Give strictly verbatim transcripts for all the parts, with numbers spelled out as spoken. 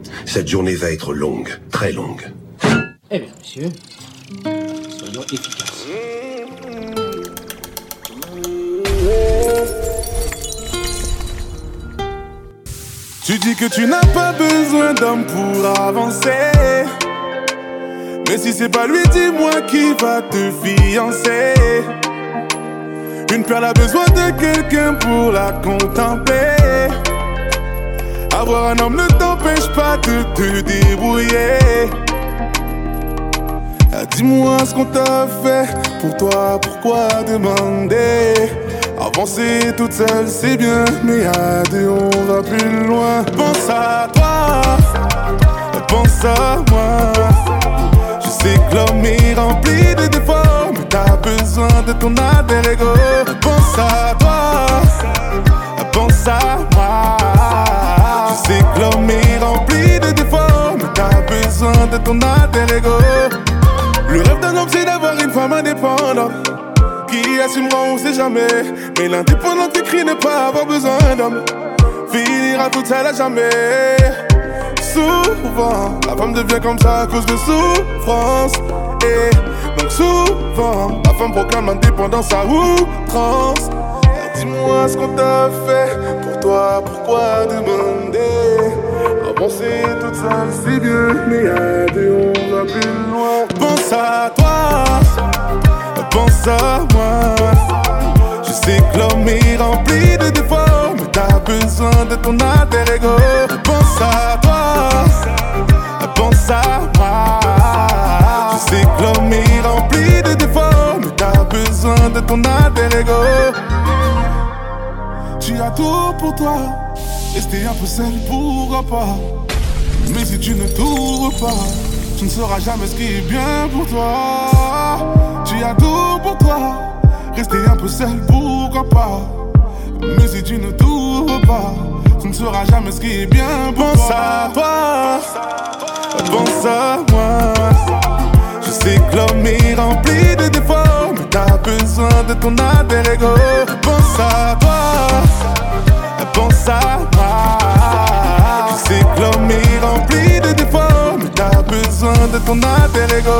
Cette journée va être longue, très longue. Eh bien, monsieur, soyons efficaces. Tu dis que tu n'as pas besoin d'homme pour avancer. Mais si c'est pas lui, dis-moi qui va te fiancer. Une perle a besoin de quelqu'un pour la contempler. Avoir un homme ne t'empêche pas de te débrouiller. Ah, dis-moi ce qu'on t'a fait. Pour toi, pourquoi demander? Avancer toute seule c'est bien, mais à deux on va plus loin. Pense à toi, pense à moi. Je sais que l'homme est rempli de défauts, mais t'as besoin de ton alter ego. Pense à toi, pense à moi. Je sais que l'homme est rempli de défauts, mais t'as besoin de ton alter ego. Le rêve d'un homme c'est d'avoir une femme indépendante qui assumera on sait jamais. Mais l'indépendant qui crie ne pas avoir besoin d'homme finira toute seule à jamais. Souvent, la femme devient comme ça à cause de souffrance. Et donc souvent, la femme proclame l'indépendance à outrance. Dis-moi ce qu'on t'a fait. Pour toi, pourquoi demander? Avancer toute seule c'est bien, mais à deux on va plus loin. Pense à toi, pense à moi. Je sais que l'homme est rempli de défauts, mais t'as besoin de ton alter ego. Pense à toi, pense à moi. Je sais que l'homme est rempli de défauts, mais t'as besoin de ton alter ego. Tu as tout pour toi, rester un peu seul pourquoi pas. Mais si tu ne t'ouvres pas, tu ne sauras jamais ce qui est bien pour toi. Tu as tout pour toi, rester un peu seul pourquoi pas. Mais si tu ne t'ouvres pas, tu ne sauras jamais ce qui est bien pour pense toi. À toi, pense à moi. Je sais que l'homme est rempli de défauts, mais t'as besoin de ton alter ego. Pense à toi, pense à moi. Je sais que l'homme est rempli de défauts, mais t'as besoin de ton alter ego.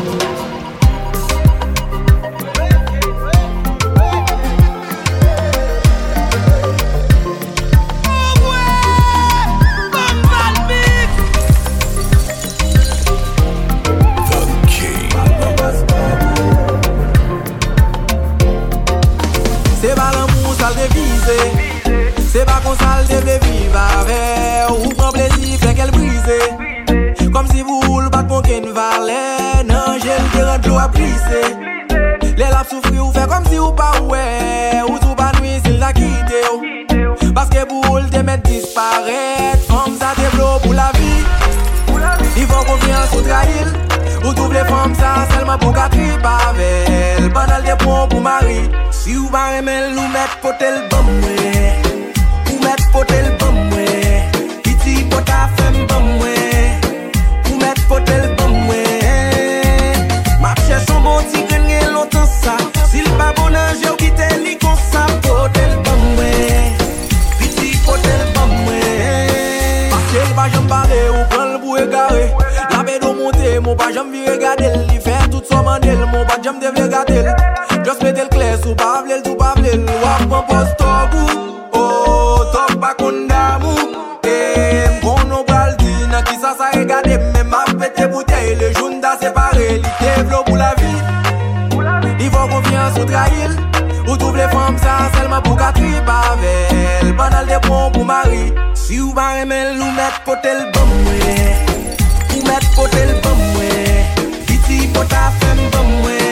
C'est pas l'amour, ça le dévise. C'est pas qu'on ça le devait vivre avec. Ou prend plaisir, fait qu'elle brise. Comme si vous roulez pas pour qu'elle valait. Non, j'ai le terrain de l'eau à plisser. Les laps souffrir ou fait comme si ou pas ouais. Ou tout pas nuit s'il l'a quitté. Parce que pour le te mettre disparaître. Comme ça te blow pour la vie. Ils font confiance ou trahir. Ou tous les femmes ça seulement pour qu'à triper avec elle. Pendant des ponts pour mari. Si ou pas aimer nous mettre potel bon ouais. Ou mettre potel bon ouais. Piti pota femme bon ouais. Ou mettre potel bon ouais. Ma cherche son bon petit gagne longtemps ça. S'il pas bon ange ou quitte li comme ça. Potel bon ouais. Piti potel bon ouais. Parce que pas j'en parle ou prendre le bout égaré. La bédo monter mon pas j'en vi regarder. Il fait tout son mandel mon pas j'en devait regarder. Just mette le clair sous pas v'lel tout pas v'lel. Wap mon poste au bout. Oh, top pas qu'on d'amour. Eh, mon nom bral dit nan qui ça ça regarde. Mais ma fête bouteille le jaune da séparé. Li développe pour la vie. Il faut confiance ou trahir. Ou tous les femmes ça seulement pour qu'à triper avec elle. Pendant des ponts pour mari. Si ou pas aimer nous mettre potel bon ouais. Ou mettre potel bon ouais. Piti pota femme bon ouais.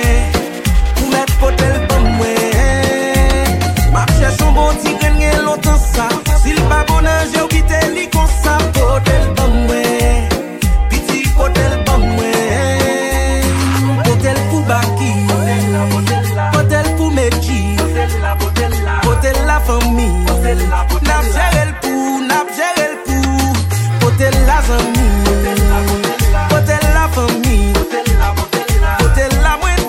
Potel bon ouais. Ma cherche son bon petit gagne longtemps ça. S'il pas bon ange ou quitte li comme ça. Potel bon ouais. Petit potel bon ouais. Potel pour Baki. Potel pour Meji. Potel la famille. N'a géré le pour, n'a géré le pour. Potel la famille. Potel la famille. Potel la moelle.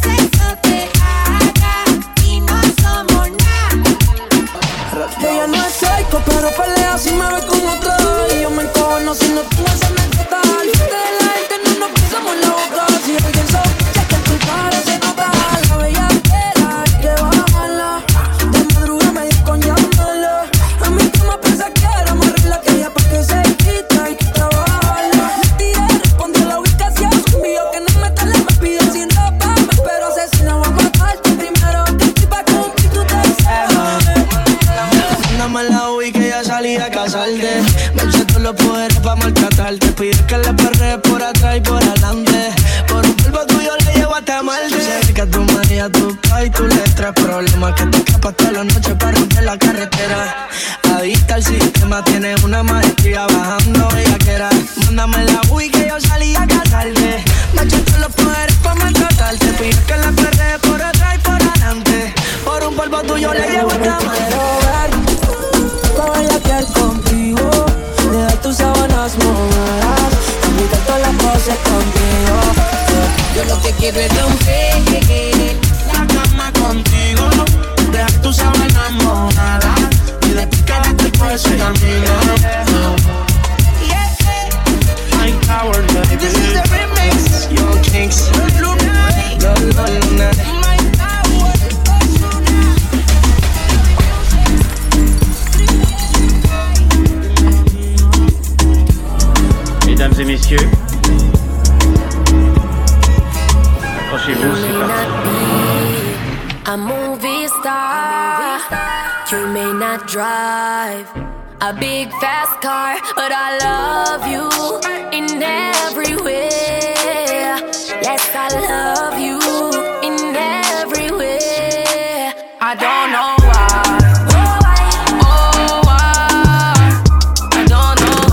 broma y a tu pa' y tu letra. Problema que te escapas toda la noche para romper la carretera. Adicta al sistema, tienes una maestría bajando bellaquera. Mándame la Wii que yo salí a casarte. Me echaste los poderes pa' maltratarte. Pide que la perre por atrás y por adelante. Por un polvo tuyo le llevo esta mano. Pa' bellaquear contigo. Dejar tus sábanas mojadas. Invitar todas las cosas contigo. Yo lo que quiero es romper la cama contigo. Dejar tus sábanas mojadas. Y después quedarte por ese camino. My power, baby. This is the remix. Young Kings. Love, love, love. Mesdames et messieurs, accrochez-vous, c'est parti. A movie star, you may not drive a big fast car, but I love you in every way. Yes, I love you in every way. I don't know why. Oh, why? I don't know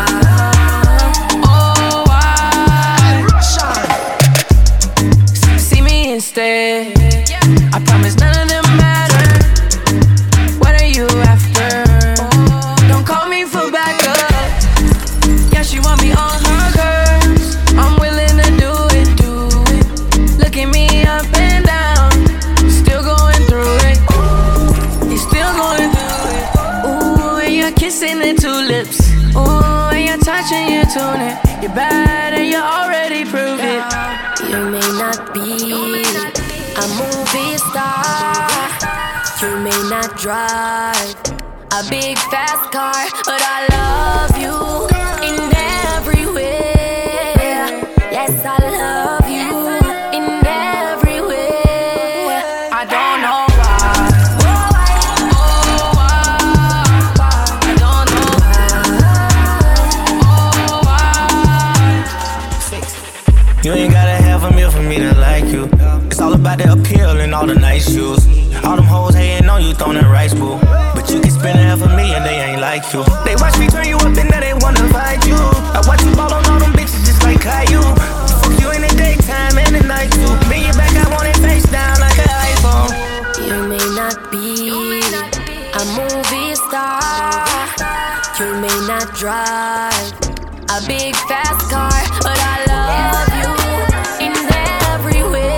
why. Oh, why? See me instead. I promise none of them matter. What are you after? Don't call me for backup. Yeah, she want me on her curves. I'm willing to do it, do it. Look at me up and down. Still going through it. You still going through it. Ooh, and you're kissing the tulips. Ooh, and you're touching your tunic. You're bad and you already proved it. You may not be a movie star, you may not drive a big fast car, but I love you in every way. Yes, I love you in every way. I don't know why. Oh, why? I don't know why. Oh, why? You ain't gotta have a meal for me to like you. It's all about the appeal and all the nice shoes. All them hoes hating on you, throwing that rice bowl. But you can spend half of me and they ain't like you. They watch me turn you up and now they wanna fight you. I watch you ball on all them bitches just like Caillou. Fuck you in the daytime and the night too. Bring you back, I want it face down like an iPhone. You may not be a movie star, you may not drive a big fast car, but I love you in every way.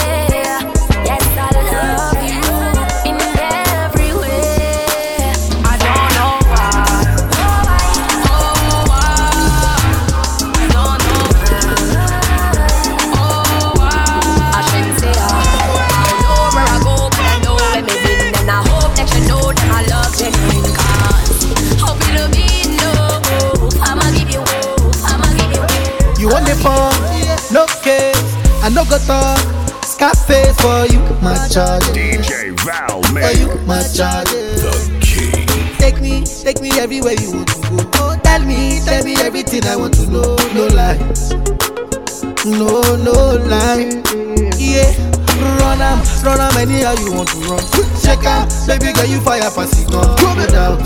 Yes, I love you in every way. I don't know why. Oh, why? I don't know why. Oh, why? I shouldn't say I. I know where I go, but I know where me been, and I hope that you know that I love genuine cause. Hope it'll be no. I'ma give you hope. I'ma give you hope. You on the phone, no case, I no go talk. Scarface for you, my charge. D J Val, For man. you, my charge. The king. Take me, take me everywhere you want to go. Oh, tell me, tell me everything I want to know. No lies, no, no lie. Yeah, run am, run am anyhow you want to run. Check out, baby girl you fire pass it gun. No doubt,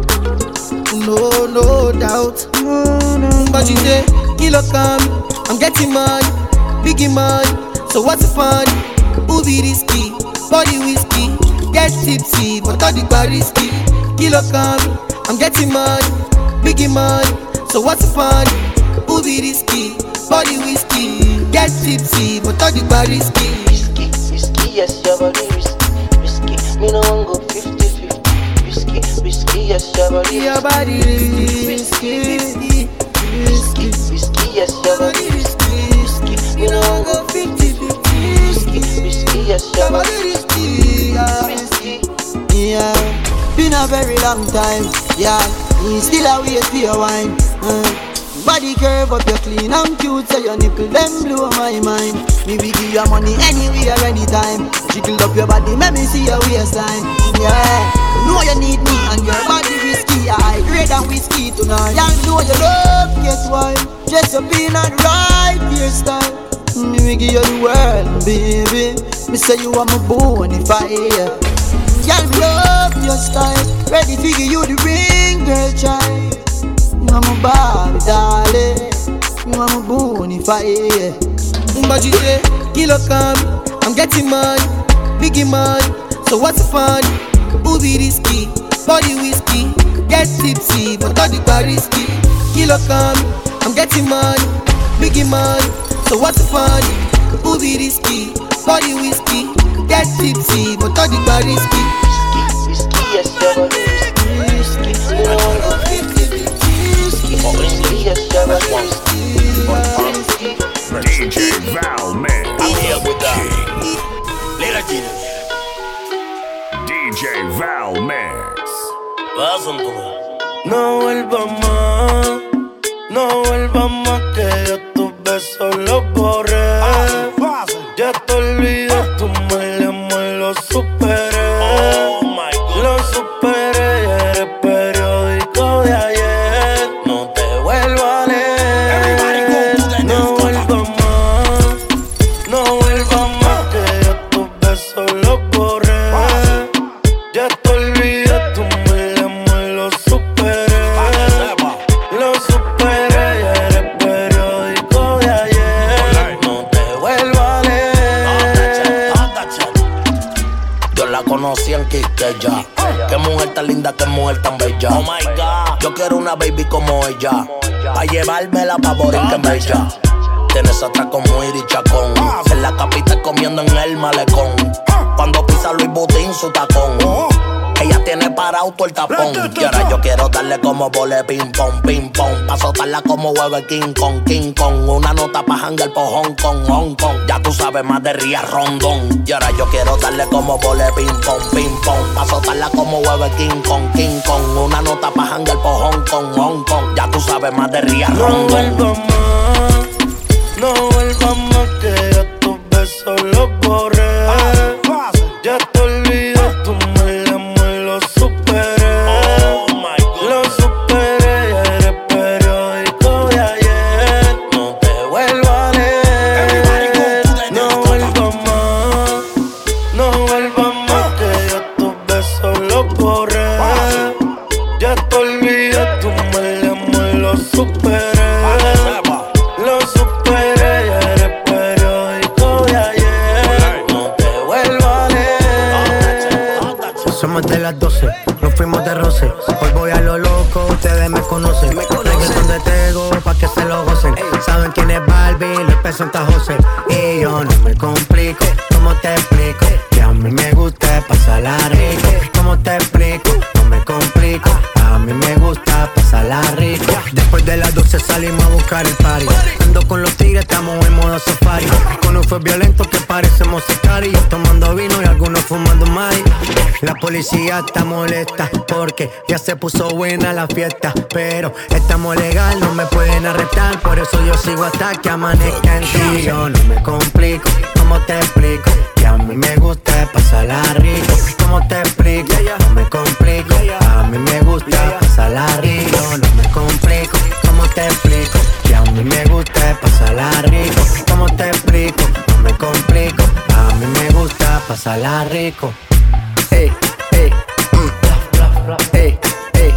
no, no doubt. But you say, kilo come, I'm getting money, biggie money. So what's the fun? Who be risky? Body whiskey, get tipsy, but all the bar risky. Kilo come, I'm getting money, biggie money. So what's the fun? Who be risky? Body whiskey, get tipsy, but all the bar risky. Risky, risky, yes, your body risky, risky. Me no one go fifty fifty. Risky, risky, yes, your body Your body risky, risky, risky, risky, yes, your body risky, risky. Me no one go fifty fifty. Risky, risky, yes, your body risky, risky. yeah. Been a very long time, yeah. Me still a wait for your wine. Uh. Body curve up, you clean and cute, so your nipple them blow my mind. Me we give you money anywhere, anytime. Jiggle up your body, make me see your waistline. Yeah, know you need me and your body risky. I grade and whiskey tonight. Y'all know you love, guess why? Just a being and right hairstyle. Me give you the world, baby. Me say you are my bonfire. Girl, me love your style. Ready to give you the ring, girl, child. You are my Barbie, darling. You are my bonfire. But you say, kilo come, I'm getting money, biggie money. So what's the fun? Booby risky, body whiskey, get tipsy, but not the bar risky. Kilo come, I'm getting money, biggie money. So what's the fun? Booby risky, body whiskey, get tipsy, but not the bar risky. Whiskey, yes, you're whiskey. You know I'm a fifty whiskey. Whiskey, yes, you're whiskey. D J Val Man. I'm here with that. Little Jesus. D J Val Max. No vuelvas más, no vuelvas más, que yo tus besos los borré. Ya te olvidé, tu mal amor lo superé. Lo superé, ya eres periódico de ayer. No te vuelvo a leer. No vuelvas más, no vuelvas más, que yo tus besos los borré. Ya te olvidé, tu mal amor lo superé. Lo superé, ya eres periódico de ayer. No te vuelvo a leer. Yo la conocí en Quisqueya. Qué mujer tan linda, qué mujer tan bella. Oh my God. Yo quiero una baby como ella, pa' llevármela pa' Borinquen Bella. Tienes atraco muy y chacón. En la capital comiendo en el malecón. Cuando pisa Luis Butín su tacón. Ella tiene parado todo el tapón. Y ahora yo quiero darle como vole ping pong, ping pong. Pa' soltarla como huevo King Kong, King Kong. Una nota pa' hangar por Hong Kong, Hong Kong. Ya tú sabes más de Ría Rondón. Y ahora yo quiero darle como vole ping pong, ping pong. Pa' soltarla como huevo King Kong, King Kong. Una nota pa' hangar por Hong Kong, Hong Kong. Ya tú sabes más de Ría Rondón. No vuelvas más, no vuelvas más, que yo tus besos los borré. Ya te olvidé, tu mal amor lo superé. Lo superé, ya eres periódico de ayer. No te vuelvo a leer. No vuelvas más, no vuelvas más, que yo tus besos los borré. Ya te olvidé, tu mal amor lo superé. Lo superé, ya eres periódico de ayer. No te vuelvo a leer. Somos de las doce, nos fuimos de roce. Hoy voy a lo loco, ustedes me conocen. Reggaeton de Tego, pa' que se lo gocen. Saben quién es Barbie, les presenta José. Y yo no me complico, ¿cómo te explico? Que a mí me gusta pasarla rico. ¿Cómo te explico? No me complico, a mí me gusta pasarla rico. Después de las doce salimos a buscar el party. Ando con los tigres, estamos en modo safari. Con un fue violento que parecemos sicari. Tomando vino y algunos fumando mari. La policía está molesta porque ya se puso buena la fiesta. Pero estamos legal, no me pueden arrestar. Por eso yo sigo hasta que amanezca en ti. Yo no me complico, ¿cómo te explico? Que a mí me gusta pasarla rico. ¿Cómo te explico? No me complico, a mí me gusta pasarla rico. No me complico, ¿cómo te explico? Que a mí me gusta pasarla rico. ¿Cómo te explico? No me complico, a mí me gusta pasarla rico. Ey, ey, mm, ey, ey,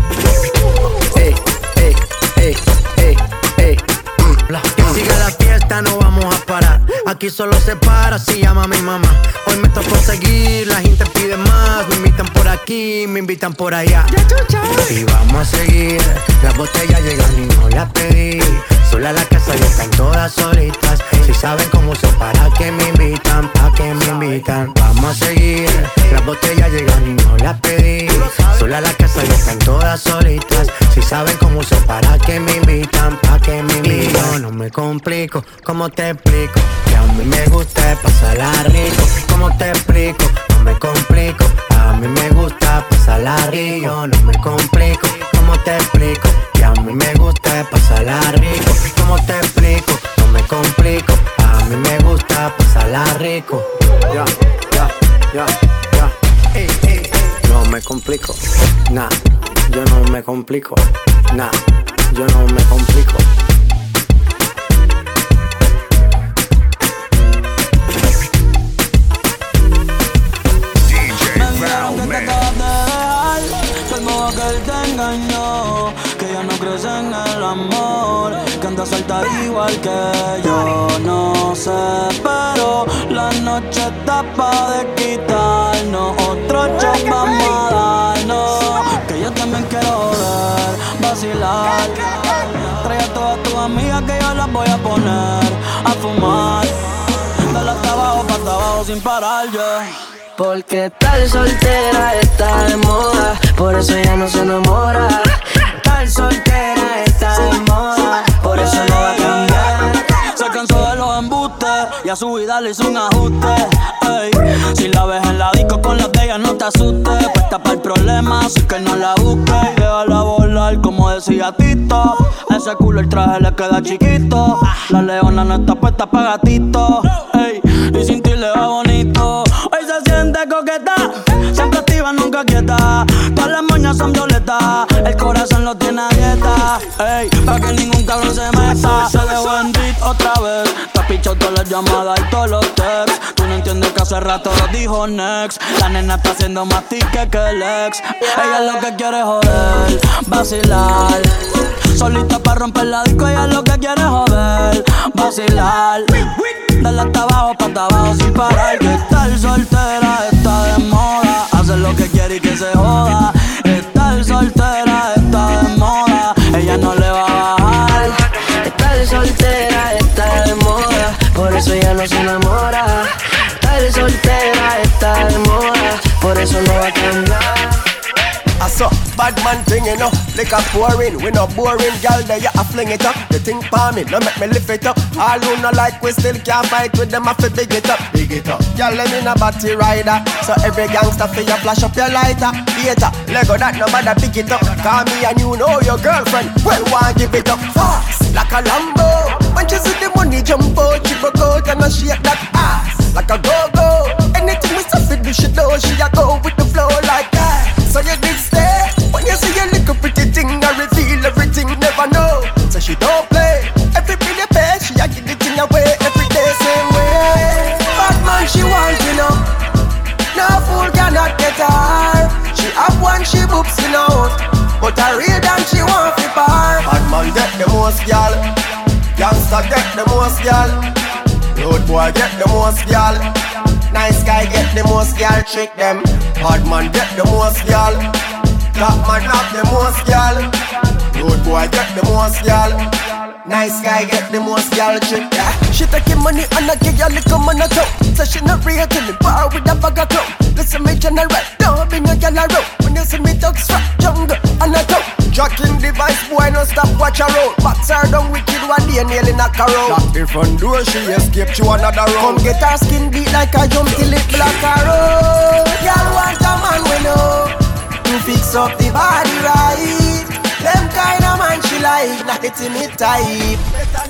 ey, ey, ey, ey, ey, mm. Que siga la fiesta, no vamos a parar. Aquí solo se para si llama mi mamá. Hoy me tocó seguir, la gente pide más. Me invitan por aquí, me invitan por allá. Y vamos a seguir, las botellas llegan y no las pedí. Sola la casa ya están todas solitas. Si saben cómo son, para que me invitan, pa' que me invitan. Vamos a seguir, las botellas llegan y no las pedí. Sola la casa ya están todas solitas. Si saben cómo son, para que me invitan, pa' que me invitan. Y yo no me complico, ¿cómo te explico? Que a mí me gusta pasarla rico. ¿Cómo te explico? No me complico, a mí me gusta pasarla rico. Yo no me complico, ¿cómo te explico? Que a mí me gusta pasarla rico. ¿Cómo te explico? No me complico, a mí me gusta pasarla rico. Ya, ya, ya, ya. Ey, ey, ey. No me complico, nah, yo no me complico, nah, yo no me complico. te engañó, que ya no crees en el amor, que anda suelta igual que yo. No sé, pero la noche está pa' de quitarnos. Otro shot vamos a darnos, que yo también quiero joder, vacilar. Trae a todas tus amigas que yo las voy a poner a fumar. Dale hasta abajo, pa' hasta abajo sin parar, yeah. Porque estar soltera está de moda, por eso ella no se enamora. Estar soltera está de moda, por eso no va a cambiar. Se cansó de los embustes y a su vida le hizo un ajuste. Ey, si la ves en la disco con las de ella no te asustes. Puesta para el problema, así que no la busques. Y déjala volar como decía Tito. Ese culo el traje le queda chiquito. La leona no está puesta pa' gatito. Ey, y sin ti le va bonito. Hoy se siente coqueta, siempre activa, nunca quieta. Todas las moñas son violetas, el corazón lo tiene a dieta. Ey, pa' que ningún cabrón se meta. Se dejó en beat otra vez, te ha pichado todas las llamadas y todos los texts. Tú no entiendes que hace rato lo dijo next. La nena está haciendo más tique que el ex. Ella lo que quiere es joder, vacilar. Solita pa' romper la disco, ella lo que quiere es joder, vacilar. Dale hasta abajo, pa' hasta abajo sin parar. Que estar soltera está de moda, hacer lo que quiere y que se joda. Estar soltera está de moda, ella no le va a bajar. Estar soltera está de moda, por eso ella no se enamora. Estar soltera está de moda, por eso no va a cambiar. I saw bad man thing, you know, like a pouring. We no boring, girl, there you a fling it up. The thing pa me, no make me lift it up. All who no like, we still can't fight with them, I fi big it up, big it up. Girl, let me no batty rider, so every gangster fi you flash up your lighter. Theater, Lego that no matter pick it up. Call me and you know your girlfriend, well, why give it up fast, like a Lambo. When she see the money jump out, she broke out and I shake that ass, like a go-go. Anything we say fi do, she do, she a go with the flow like that. So you did stay, when you see your little pretty thing, I reveal everything, never know. So she don't play, every pretty pay, she a give the thing away, every day same way. Bad man she want, you know, no fool cannot get her. She have one, she boops in out, but a real damn she want to bar. Bad man get the most girl, youngster get the most girl, road boy get the most girl. Nice guy get the most girl, trick them. Hard man get the most girl. Top man have the most girl. Road boy get the most girl. Nice guy get the most girl, trick yeah. She taking money and I give you little man a toe. So she not real to the bar with a bag of clothes. Listen me general, don't bring a girl around. When you see me talk strap, jungle and a toe. Jacking device, boy, no stop, watch her road. Box her down wicked one day, nearly knock her out. Lock the front door, she escaped to another road. Come get her skin beat like a jump till it black her out. Y'all want a man we know to fix up the body right. Them kind of man she like, not the timid type.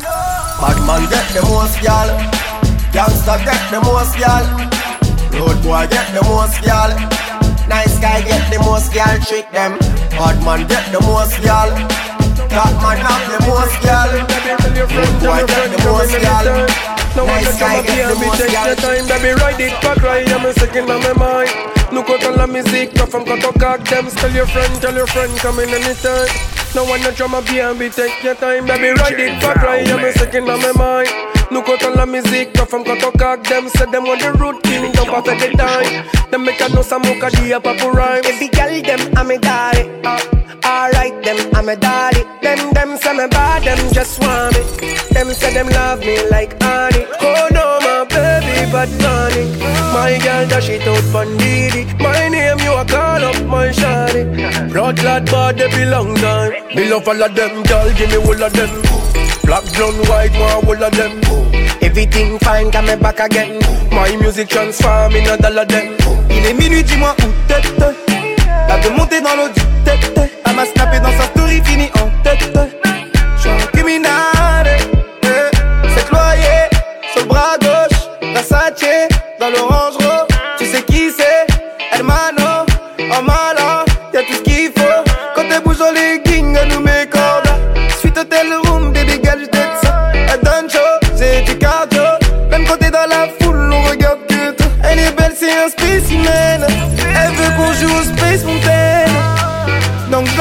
Bad man get the most y'all, gangster get the most y'all, road boy get the most y'all. Nice guy get the most y'all, trick them. Hard man get the most y'all. Top man have the most y'all. Road boy get the most y'all. Nice guy get the most y'all. Time, baby, ride it back right, I'm a second on my mind. Look out on la musique, no from got to cock them. Tell your friend, tell your friend, come in anytime. No one no drama B and B, take your time, baby, ride it back right, I'm a second on my mind. Look out on la musique, no from got to cock them. Say them on the routine, don't pass at the time. Them make a no some mocha di a papu rhyme. Every girl them I'm a daddy, uh, alright them I'm a daddy. Them them say me bad, them just want me. Them say them love me like honey. Oh no my baby, but honey. My girl dash it out bandidi. My name you a call up my shawty. Blood clad body belong time. Me love all of them, girl give me all of them. Black, brown, white, one all of them. Everything fine, come back again. My music transform in a dollar them. Il est minuit, dis-moi où t'es. Elle veut monter dans l'eau du tête. Elle m'a snappé dans sa story, fini en tête. J'suis un criminel, eh. C'est cloyé, sur le bras gauche. Versace, dans l'orange rose. Tu sais qui c'est? Hermano, en malin. Y'a tout ce qu'il faut. Quand elle bouge dans les gangs, elle nous met cordes. Suite hôtel room, baby girl, j't'aide ça. Elle donne chaud, c'est du cardio. Même quand t'es dans la foule, on regarde que toi. Elle est belle, c'est un spécimen. Elle veut qu'on joue au Space Mountain. Donc je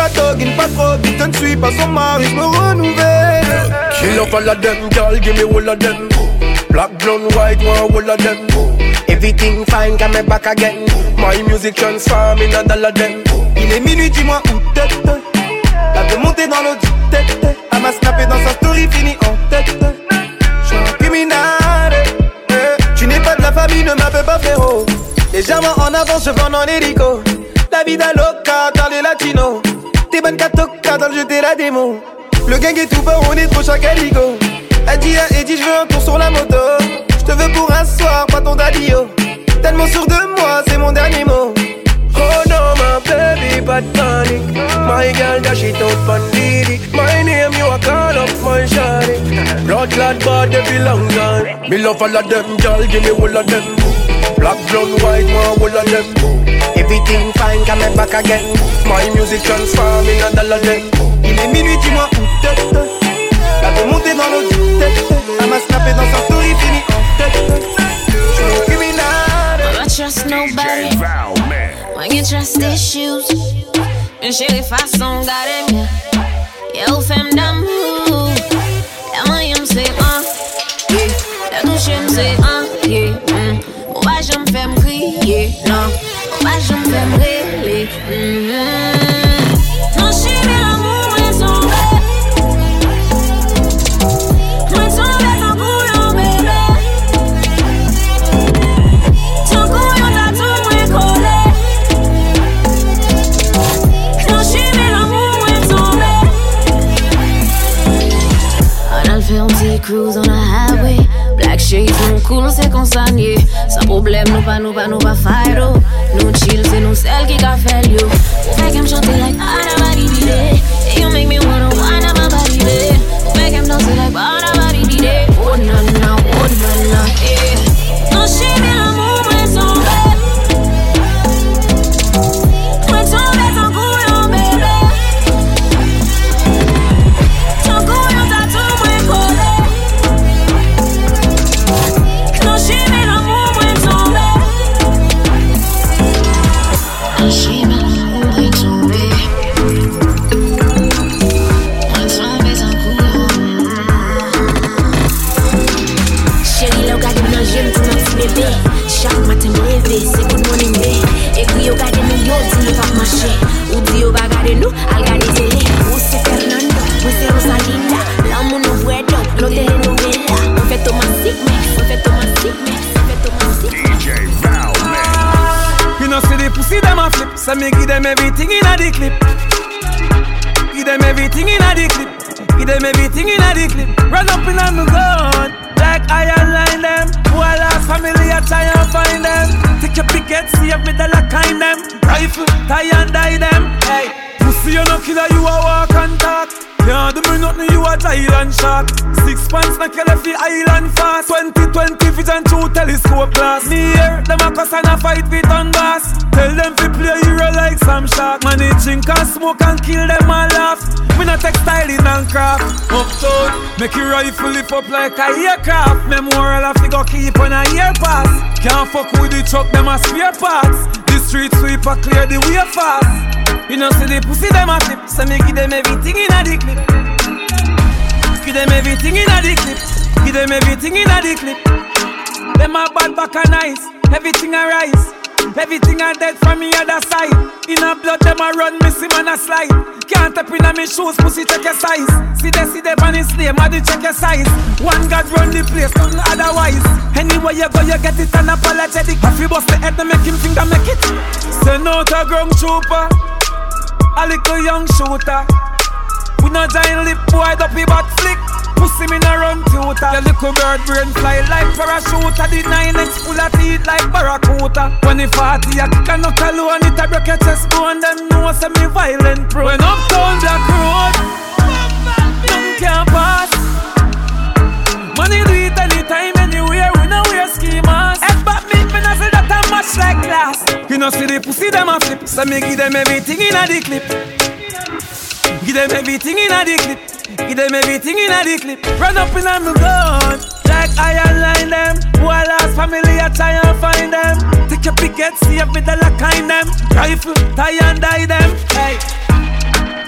pas talking, pas trop vite, je ne suis pas son mari, je me renouvelle. She love all of them, girl, give me all of them. Black, blonde, white, one, all of them. Everything fine, come back again. My music transform in a dollar them. Il est minuit, dis-moi où t'es. La de monter dans l'eau du tête. Elle m'a snappé dans sa story, fini en tête. J'suis un criminel. Tu n'es pas de la famille, ne m'appelle pas frérot. Légèrement en avance, je vends en hélico. La vida loca, dans les latinos. T'es bonne catoca dans le jeu, t'es la démon. Le gang est tout bas, on est trop chaque aligo. Elle dit à Eddie, je veux un tour sur la moto. Je te veux pour un soir, pas ton daddy-o. Tellement sûr de moi, c'est mon dernier mot. Oh no, my baby, bad panic. My girl, dash it out, bandidi. My name, you a call up, my shawty. Blood clad body belong on. Me love all of them, girl, give me all of them. Black, blonde, white, one, all of them. Everything fine, come back again. My music transform in a dollar them. Il est minuit, dis-moi où t'es. La de monter dans l'eau du tête. Elle m'a snappé dans sa story, fini en tête. J'suis un criminel. I don't trust nobody when you trust issues. Une chérie façon garder mieux. Yo, femme d'amour. La main, y'me c'est un. Yeah. La touche, y'me c'est un. Yeah. Mm. Oh, bah, j'me fais m'crier. Non. Oh, bah, j'me fais m'rêler. Mm-hmm. Non, chérie, l'amour est tombé. Moi, tombé sans couillon, bébé. Ton couillon, t'as tout moi collé. Non, chérie, l'amour est tombé. On a le fait un petit cruise on the highway. Black shades, nous cool, c'est consigné. Sans problème, nous pas, nous pas, nous pas fight, oh. Nous chill, c'est nous celles qui qu'a fait you. Make him chanter like Bada-badi-bidi. You make me wanna whine on my body, babe. Make him dance like Bada-badi-bidi. Oh na na, oh na na, yeah. Non, chérie, l'amour est tombé. Moi tombé ton couillon, bébé. Ton couillon, t'as tout moi collé. Non, chérie, l'amour est tombé. Non, chérie, l'amour est tombé. Moi tombé ton couillon. Chérie, là, regarde mon jeune pour mon petit bébé. Chaque matin, me lever, c'est good morning day. Et puis, regarde nous, yo, dis nous pas marcher. Ou dis, yo, va regarder nous, al regarder télé. Ou c'est Fernando, ou c'est Rosalinda. L'amour nous voit donc, nos télénovelas. On fait Thomasik mix, on fait Thomasik mix, on fait Thomasik mix. D J Val Mix. You know, see the pussy, them a flip. So me give them everything in a the clip. Give them everything in a the clip. Give them everything in a the clip. Run up in on me gun. Like I align them. Who I lost family, I try and find them. Take your picket, see if me the lock kind them. Rifle, tie and die them. Hey, pussy, you no killer, you a walk and talk. Can't do me nothing, you a Thailand shark. Six pants, make you left the island fast. Twenty twenty vision through telescope glass. Me here, them a cuss and a fight with Donbass. Tell them to play hero like some shark. Man, they drink and smoke and kill them and laugh. Me not textiling and craft. Uptown, make your rifle lift up like a aircraft. Memorial a figure keep on a year pass. Can't fuck with the truck, them a spare parts. The street sweeper clear the way fast. You know see the pussy them a flip. So me give them everything in a the clip. Give them everything in a the clip. Give them everything in a the clip. Them a bad back and nice. Everything a rise. Everything a dead from me other side. In a blood them a run, missing man a slide. Can't tap in a me shoes, pussy check your size. See they see they on his name, I check your size. One God run the place, nothing otherwise. Anywhere you go, you get it unapologetic. If you bust the head, then make him think that make it. Send out a ground trooper, a little young shooter. We no giant lip boy, dopey back flick. Pussy me no run tutor. The little bird brain fly like parachute. The nine X full of teeth like barracuda. When it forty, I kick a knuckle alone. It a break your chest bone. Them know say me violent pro. When uptown Black Road, none can pass. Money do it anytime, anywhere. We no wear ski mask. Head back me, me no say that I'm much like glass. You know see the pussy them a flip. So me give them everything in a the clip. Give them everything in a the clip. Give them everything in a the clip. Run up in a me gun. Like I align them. Who I lost family, I try and find them. Take your picket, see if me the lock kind them. Rifle, tie and die them. Hey,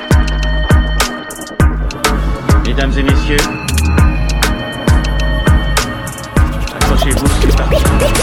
et messieurs, accrochez-vous, c'est parti.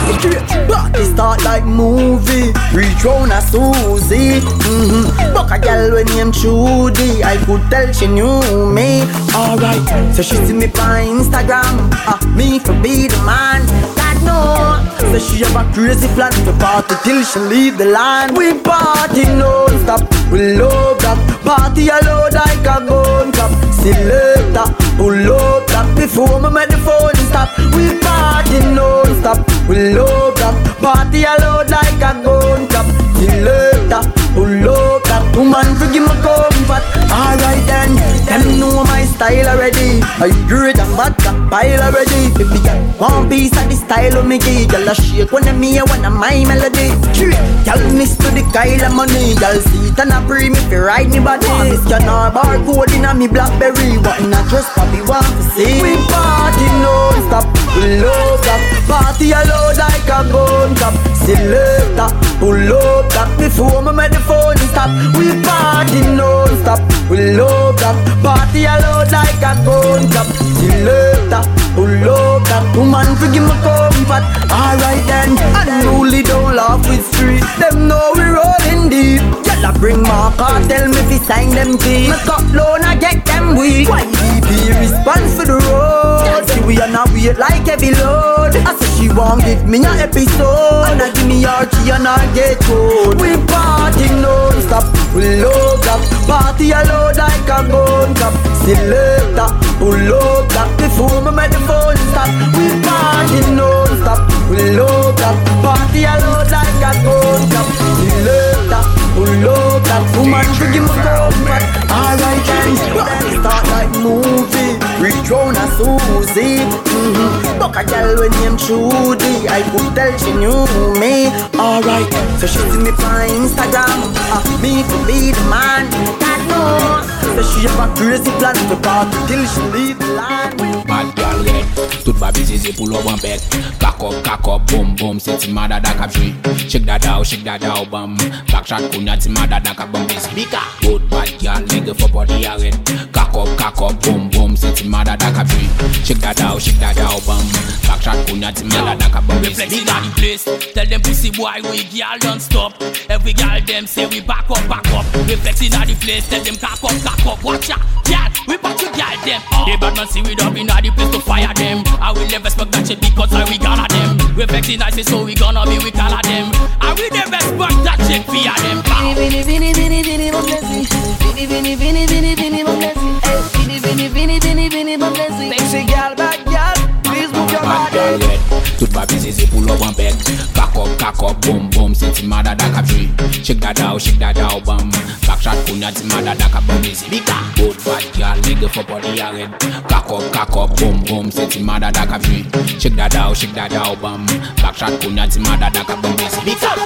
Party start like movie, reach round a Susie. Mm-hmm. Buck a girl when named Trudy, I could tell she knew me. Alright, so she see me on Instagram, ah, me for be the man. God no, so she have a crazy plan to party till she leave the land. We party non-stop, we love that. Party alone like a gun clap. Selector, pull up that before me make the phone stop. We party non-stop, we love that. Party alone like a gun clap. Selector, pull up that. Woman forgive me comfort. Alright then, them know my style already. I great and bad got pile already. If you get one piece of the style of me give, y'all a shake when I'm here, when I'm my melody. Y'all miss to the Kyle of money. Y'all see it and I pray me fi ride me body. Miss Canard barcode in a me Blackberry. What in a dress Bobby want to see. We party non-stop, we love that. Party alone like a gun clap. Selector, pull up that before me make the phone stop. We party non-stop, we love that. Party alone like a gun clap. Selector, pull up that. Woman forgive me comfort. Alright then, unruly don't laugh with street. Them know we rolling deep. Y'all bring my car, tell me fi sign them teeth. Me cut loan, I get them weak. Y D P response for the road. See we on a wait like heavy load. I say she won't give me an episode. And I give me her key and I get code. We party non-stop, we love that. Party alone like a gun clap. Selector, pull up that before me make the phone stop. We party non-stop, we love that. Party alone like a gun clap. Selector, pull up that. Woman forgive me comfort. Alright then, start like movie. Reach round a Susie. Mm-hmm. Buck a girl when named Trudy, I could tell she knew me. Alright, so she see me on Instagram, ah, me to be the man. God no, so she have a crazy plan to party till she leave the land. Bad girl red, toute ba busy pull up one bed. Cock up, cock up, boom boom, c'est ti mada da cap jouer. Shake that out, shake that out, bam. Backshot kunya ti mada da cap bam busy. Bika, good bad girl, nigga for body red. Cock up, cock up, boom boom, c'est ti mada da cap jouer. Shake that out, shake that out, bam. Backshot kunya ti mada da cap bam busy. Reflex in the place, tell them pussy boy we girl don't stop. Every girl them say we back up, back up. Reflex in the place, tell them cock up, cock up. Watch out, girl, we back to girl them. Oh. The bad man see we up in the place to fire them. I will never expect that shit because I we gonna them. Reflex in the so we gonna be we call them. I will never expect that shit fear them. Vini, vini, vini, vini, mon plaisir. Vini, vini, vini, vini, vini, mon plaisir. Vini, vini, vini, vini, vini, mon plaisir. Sexy girl, bad girl, please move your body. Toute ba busy c'est pull up one bed. Cock up, cock up, boom boom, c'est ti mada da cap jouer. Shake that out, shake that out, bam. Backshot kunya ti mada da cap bam busy. Bika, good bad girl, nigga for body red. Cock up, cock up, boom boom, c'est ti mada da cap jouer. Shake that out, shake that out, bam. Backshot kunya ti mada da cap bam busy. Bika.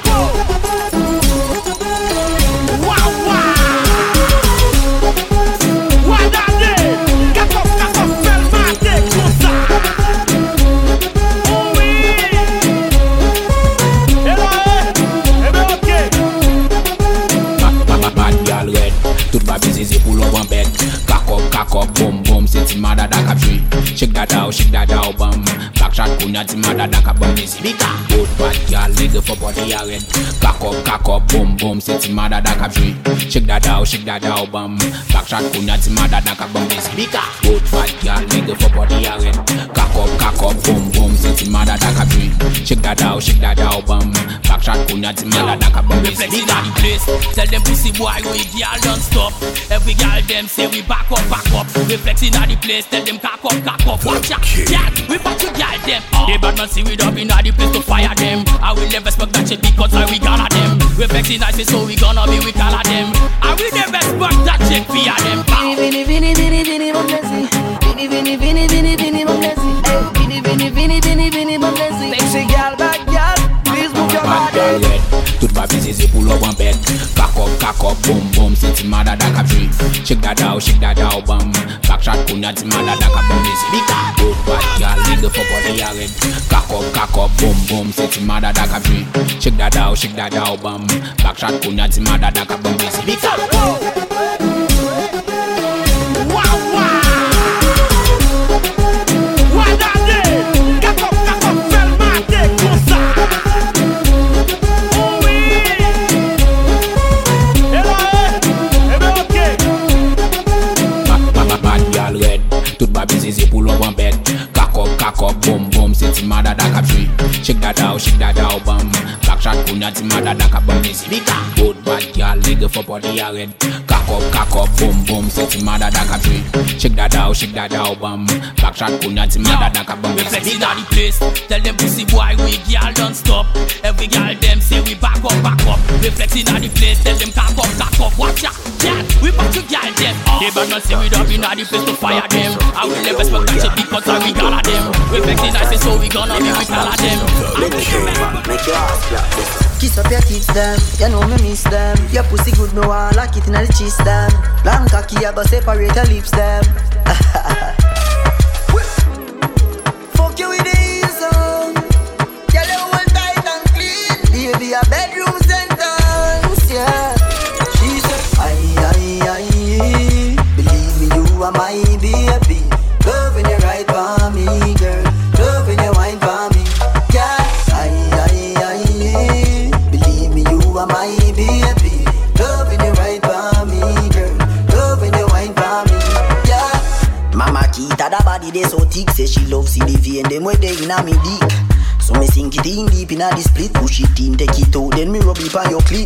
Wow wow. What that day? Cock up, cock up, fell my day, comme ça. Toute ba busy c'est pull up one bed. Cock up, cock up, boom boom, c'est ti mada da cap jouer. Shake that out, shake that out, bam. Backshot kunya ti mada da cap bam busy. Bika, good bad girl, nigga for body red. Cock up, cock up, boom boom, c'est ti mada da cap jouer. Shake that out, shake that out, bam. Backshot kunya ti mada da cap bam busy. Bika, good bad girl, nigga for body red. Cock up, cock up, boom boom, c'est ti mada da cap jouer. Shake that out, shake that out, bam. Backshot kunya ti mada da cap bam busy. Reflex in the place, tell them pussy boy we girl don't stop. Every girl them say we back up, back up. Reflex in the place, tell them cock up, cock up. Watch out, girl, we back to girl them. Oh. The bad man see we up in the place to fire them. I will never expect that shit because I we gonna them. Reflex in the so we gonna be we call them. I will never expect that shit fear them. Vini, vini, vini, vini, mon plaisir. Vini, vini, vini, vini, vini, mon plaisir. Vini, vini, vini, vini, vini, mon plaisir. Sexy girl, bad girl, please move your bad girl red. Toute ba busy c'est pull up one bed. Cock up, cock up, boom boom, c'est ti mada da cap jouer. Shake that out, shake that out, bam. Backshot kunya ti mada da cap bam busy. Bika, good bad girl, nigga for body red. Cock up, cock up, boom boom, c'est ti mada da cap jouer. Shake that out, shake that out, bam. Backshot kunya ti mada da cap bam busy. Bika. Wow wow. kunya ti mada da ka bum busy. Good bad girl, leg up on the red. Cock up, cock up, boom boom, say ti mada da ka tree. Shake that out, shake that out, bum. Back shot kunya ti mada da ka bum busy. Reflex inna the place, tell them pussy boy we girl don't stop. Every girl them say we back up, back up. Reflex inna the place, tell them cock up, cock up. Watch out, yeah, we back to girl them. They bad man say we don't inna the place to fire them. I will never smoke that shit because I we gala them. Reflex inna say so we gonna be with all of them. Make your ass clap. Kiss up your tits them, you know me miss them. Your pussy good, me want lock it inna the cheese them. Long cocky, I go separate your lips them. Fuck you with the heels on. Girl, you hold tight and clean. Baby, a bedroom sentence, yeah. She said, aye, aye, aye. Believe me, you are my baby. Loving you right for me, girl. Loving you wine for me, yeah. Aye, aye, aye. Believe me, you are my baby. Loving you right for me, girl. Loving you wine for me, yeah. Mama Kita, the body they so thick. Say she love see the vein, them way they inna me dick. So me sink it in deep inna the split. Push it in, take it out, then me rub it on your clit.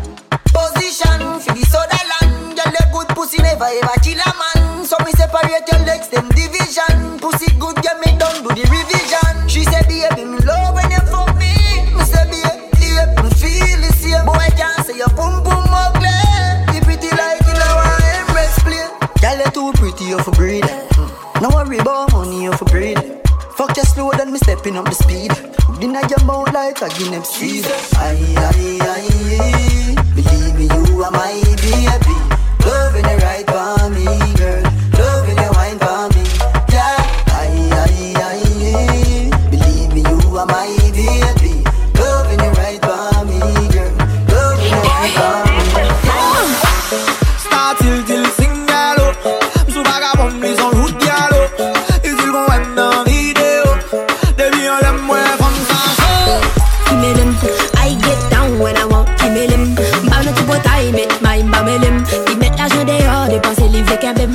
Position for the soda land. Girl, the good pussy never ever kill a man. So me separate your legs, them division. Pussy good, get me done, do the revision. She said, baby, me love when you fuck me. Me say, baby, yeah, me feel the same. Boy, I can't say your boom boom ugly. You pretty like you know I embrace play. Girl, you too pretty, you for breed. No worry about money, you for breed. Fuck you slow, then me stepping up the speed. Dinner your mouth like a Guinness seed. Aye, aye, aye. Believe me, you are my baby. Loving you right for me, girl. Loving you wine for me, yeah. Aye, aye, aye. Believe me, you are my baby. Loving you right for me, girl. Loving you wine for me, yeah. Start till till sing gallo. Sous vagabond, mais en route gallo. Ils ils vont être dans vidéo. They be on them way from Sancho. Give me them, I get down when I want. Give me them, bah notre pote I met my mamelem. Ils mettent l'argent dehors, dépenser livrer qu'un bim.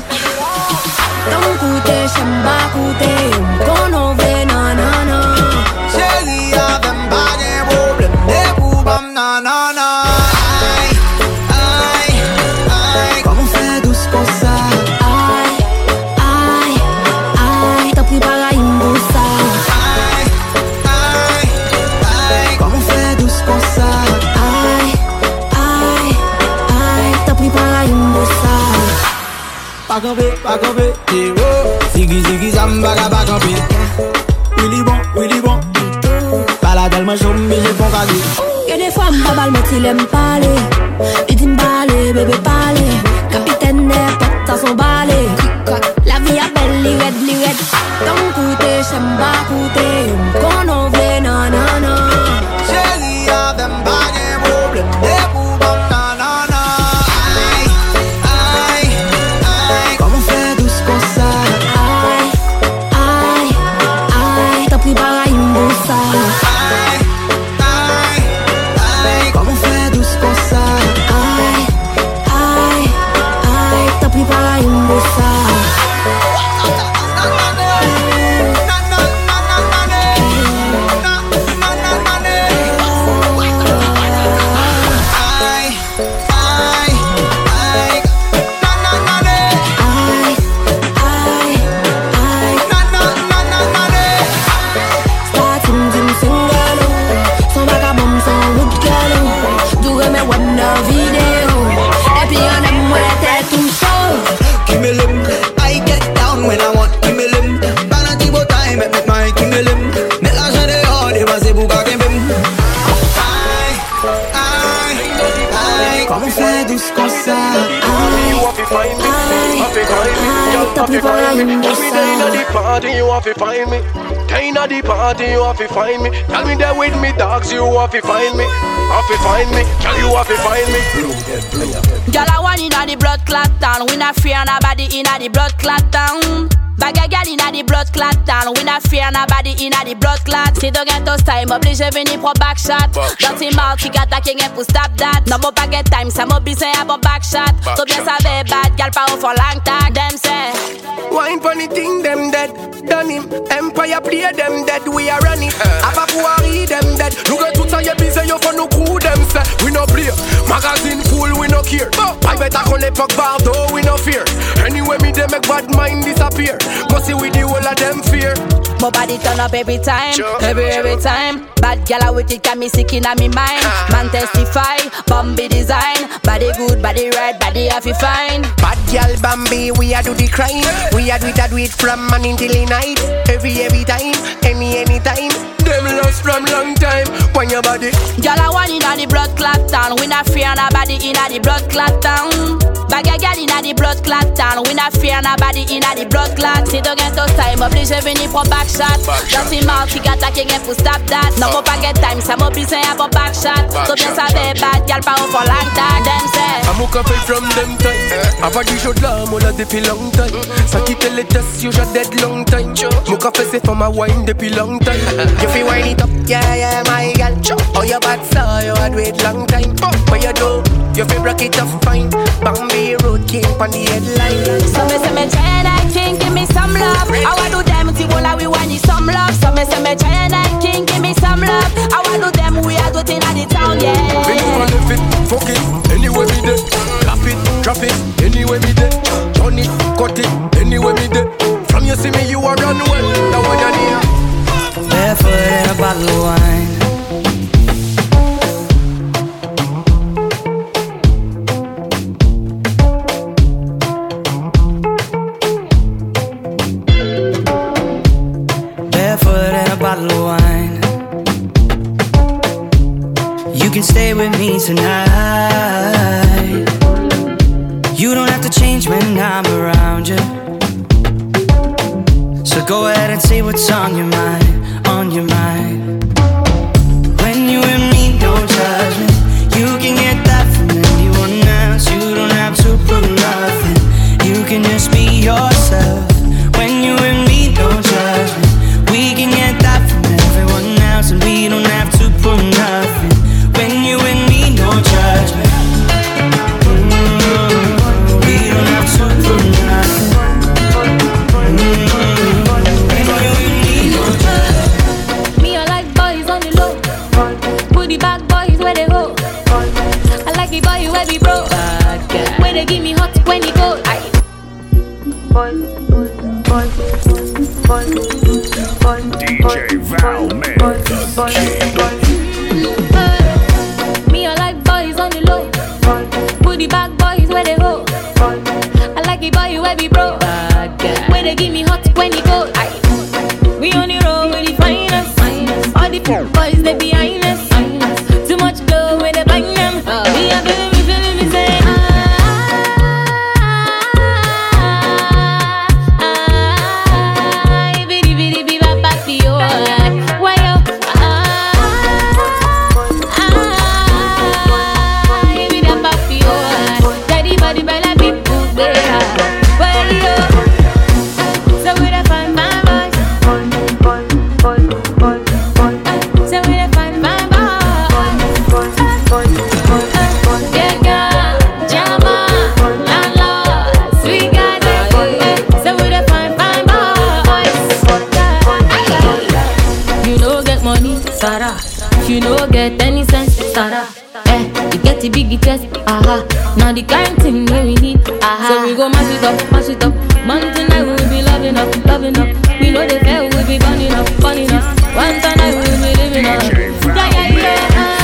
Don't coûter, j'aime pas coûter. Qu'on en veut, non, non, non. Chérie, y'a them pas de problème. Des boubams, non, non, non. Aïe, aïe, aïe. Comment on fait douce comme ça? Aïe, aïe, aïe. T'as pris par la imboussa. Aïe, aïe, aïe. Comment on fait douce comme ça? Aïe, aïe, aïe. T'as pris par la imboussa. Pas campé, pas campé, héros. Ziggy, ziggy, zamba, pas campé. Willy bon, Willy bon. Pas la tellement chaud, mais j'ai bon cadeau. Y'a des fois, ma balle, mais il aime parler. Il dit m'baller, bébé parler. Capitaine des potes, ça s'en balai. La vie a belle, li red, li red. Don't coûter, j'aime pas coûter. Qu'on en veut, non, non, non. Chérie, y'a them pas de problème. Des boubams, non, non, non. Aïe, aïe, aïe. Comment on fait douce comme ça? Aïe, aïe, aïe. T'as pris par la imboussa. Aïe, aïe, aïe. Comment on fait douce comme ça? Aïe, aïe, aïe. T'as pris par la imboussa. Comment on fait douce comme ça? T'as pris par la imboussa. Inna the party, you have to find me. Inna the party, you have to find me. Tell me there with me dogs, you have to find me. Have to find me, tell you have to find me. Girl, I want inna the blood clot town. We not fear nobody inna the blood clot town. Bag a gal inna the blood clot town. We not fear nobody inna the blood clot. Si don't get those time, obligé venir pour back shot. Dans tes mouths, qui attaque rien pour stop that. Non, mon pas get time, ça m'oblige à bon back shot. So bien savait bad, gal pas au fond long tag. Them say wine funny thing, them dead. Done him, Empire play them dead. We are running. Apa pouari them dead. Nous que tout ça y est busy, yo for nous crew. pour l'époque Bardo, we no fear. Anyway, me they make bad mind disappear. Go see with the whole of them fear. My body turn up every time, sure, every sure. every time. Bad gal with it got me sick in my mind. Uh. Man testify, Bambi design. Body good, body right, body happy fine. Bad gal Bambi, we a do the crime. We a do it, a do it from morning till the night. Every every time, any any time. Them lost from long time. When your body, gal a one inna the blood clot town. We not fear nobody inna the blood clot town. Bag a gal inna the blood clot town. We not fear nobody inna the blood clot. Si don't get those time, oblige venir pour back shot. Just in mouth, qui attaque again pour stop that. No more pas get time, ça m'oblige à pour back shot. So bien savoir bad gal pas for long time. Them say I'm a café from them time. Avant du jour de l'âme, on l'a depuis long time. Ça quitte les tests, you just dead long time. Mon café c'est for my wine depuis long time. You feel wine it up, yeah yeah my gal. Oh your bad so you had wait long time. But you do, you feel rock it up fine. Bambi road king on the headline. So me say me try and I king, give me some love. I want do them till all we want is some love. So me say me try and I king, give me some love. I want do them we are doing at the town, yeah. Big man left it, fuck it, anyway me dead. Clap it, drop it, anyway me dead. Turn it, cut it, anyway me dead. From you see me you are run well, now when I need. Barefoot in a bottle of wine. Bottle of wine. You can stay with me tonight. You don't have to change when I'm around you. So go ahead and say what's on your mind, on your mind. When you and me, don't judge me. You can get that from anyone else. You don't have to prove nothing. You can just be yourself. When you and me, don't judge me. We can get that from everyone else, and we don't have to prove nothing. When you and me, no judgment. Mm-hmm. We don't have to prove nothing. Mm-hmm. When you and me, no judgment. Me, I like boys on the low. Put the back boys where they go. I like the boy where we bro. Where they give me hot when he go. Boys, boys, boys, boys. D J Val Man, the king. Me, I like boys on the low. Put the back boys where they go. I like the boy where we bro. Where they give me hot when he go. We on the road with the finest. All the boys they behind us. Too much glow when they bang them. We are feeling me, feeling me say. You no get any sense, Sarah. Eh, you get the big test, aha. Now the kind thing that we need, aha. So we go mash it up, mash it up. Man tonight we will be loving up, loving up. We know the fair will be burning up, burning up. One tonight we will be living up. Yeah, yeah, yeah.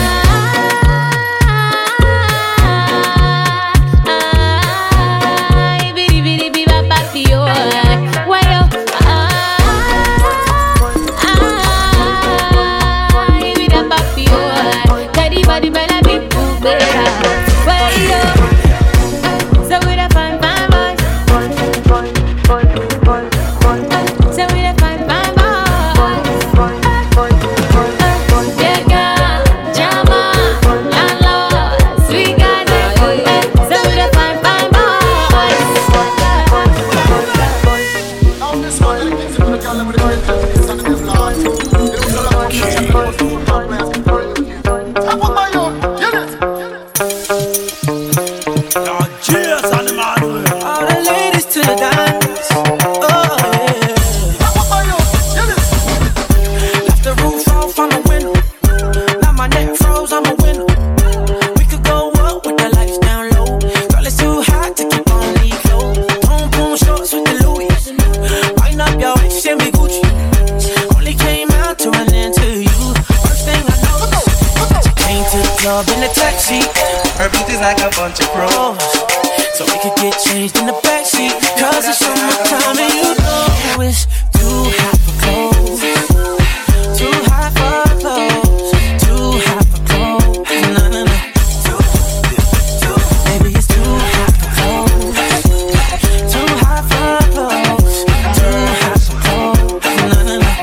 froze, I'm a winner. We could go up with the lights down low. Girl, it's too hot, club in a taxi. Her beauty's like a bunch of pros, so we could get changed in the backseat. Cause it's summertime and you know it's too hot for clothes. Too hot for clothes. Too hot for clothes. No, no, no. Baby, it's too hot for clothes. Too hot for clothes. Too hot for clothes. No, no, no.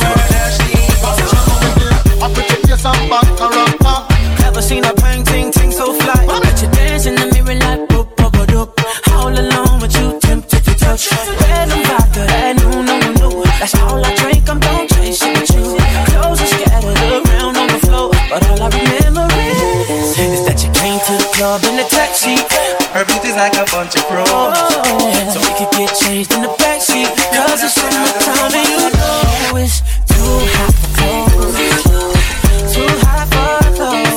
I put your face on back around. Never seen a bang, ting, ting so fly. I bet you dance in the mirror like boop, boop, boop, boop. All alone with you, tempted to touch. Red and vodka, that no, no, no. That's all I drink, I'm don't chase it with you. Clothes are scattered around on the floor, but all I remember is, is that you came to the club in a taxi. Her beauty's like a bunch of pros, so we could get changed in the backseat. Cause it's summertime and you know it's too hot for clothes. Too hot for clothes.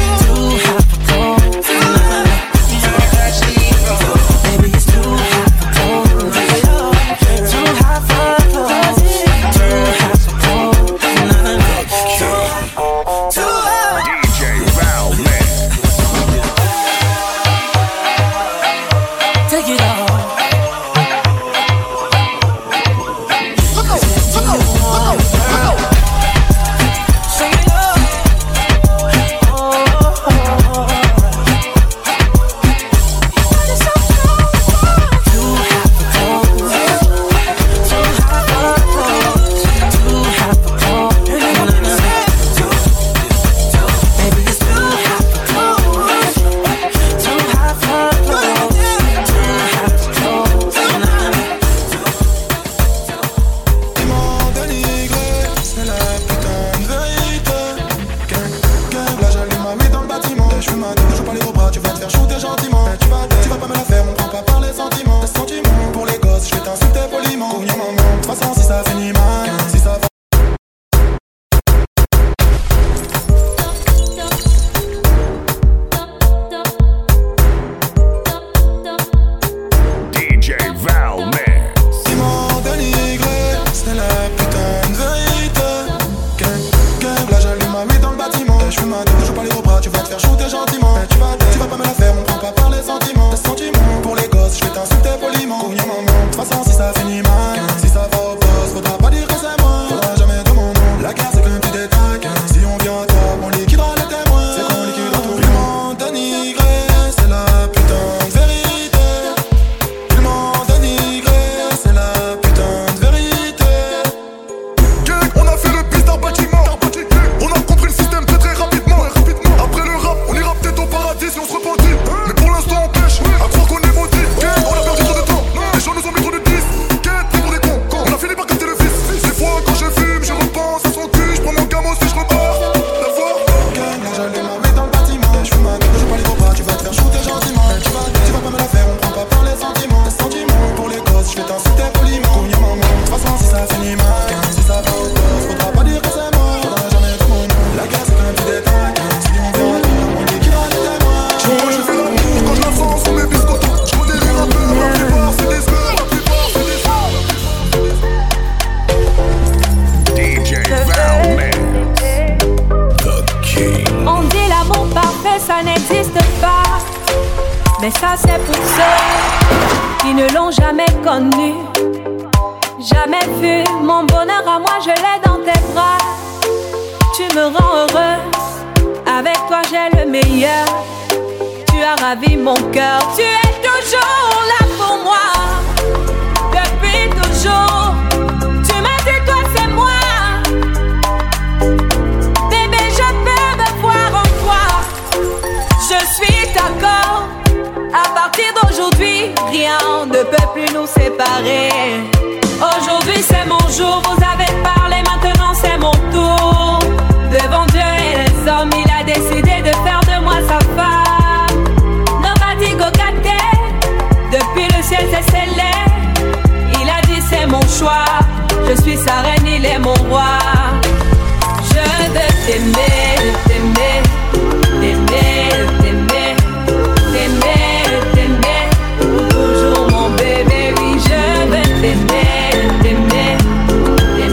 Mais ça c'est pour ceux qui ne l'ont jamais connu, jamais vu. Mon bonheur à moi je l'ai dans tes bras. Tu me rends heureuse, avec toi j'ai le meilleur. Tu as ravi mon cœur, tu es toujours là pour moi. Depuis toujours, tu m'as dit toi c'est moi. Bébé je peux me voir en toi. Je suis d'accord. À partir d'aujourd'hui, rien ne peut plus nous séparer. Aujourd'hui c'est mon jour, vous avez parlé, maintenant c'est mon tour. Devant Dieu et les hommes, il a décidé de faire de moi sa femme. Nobody go get there. Depuis le ciel c'est scellé. Il a dit c'est mon choix. Je suis sa reine, il est mon roi. Je veux t'aimer, t'aimer, t'aimer, t'aimer, t'aimer, t'aimer, pour toujours mon bébé. Oui, je veux t'aimer, t'aimer,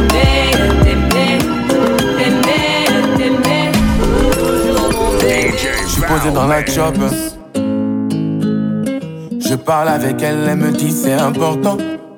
t'aimer, t'aimer, t'aimer, t'aimer, pour toujours mon bébé. J'suis posé dans la chop. Je parle avec elle, elle me dit c'est important.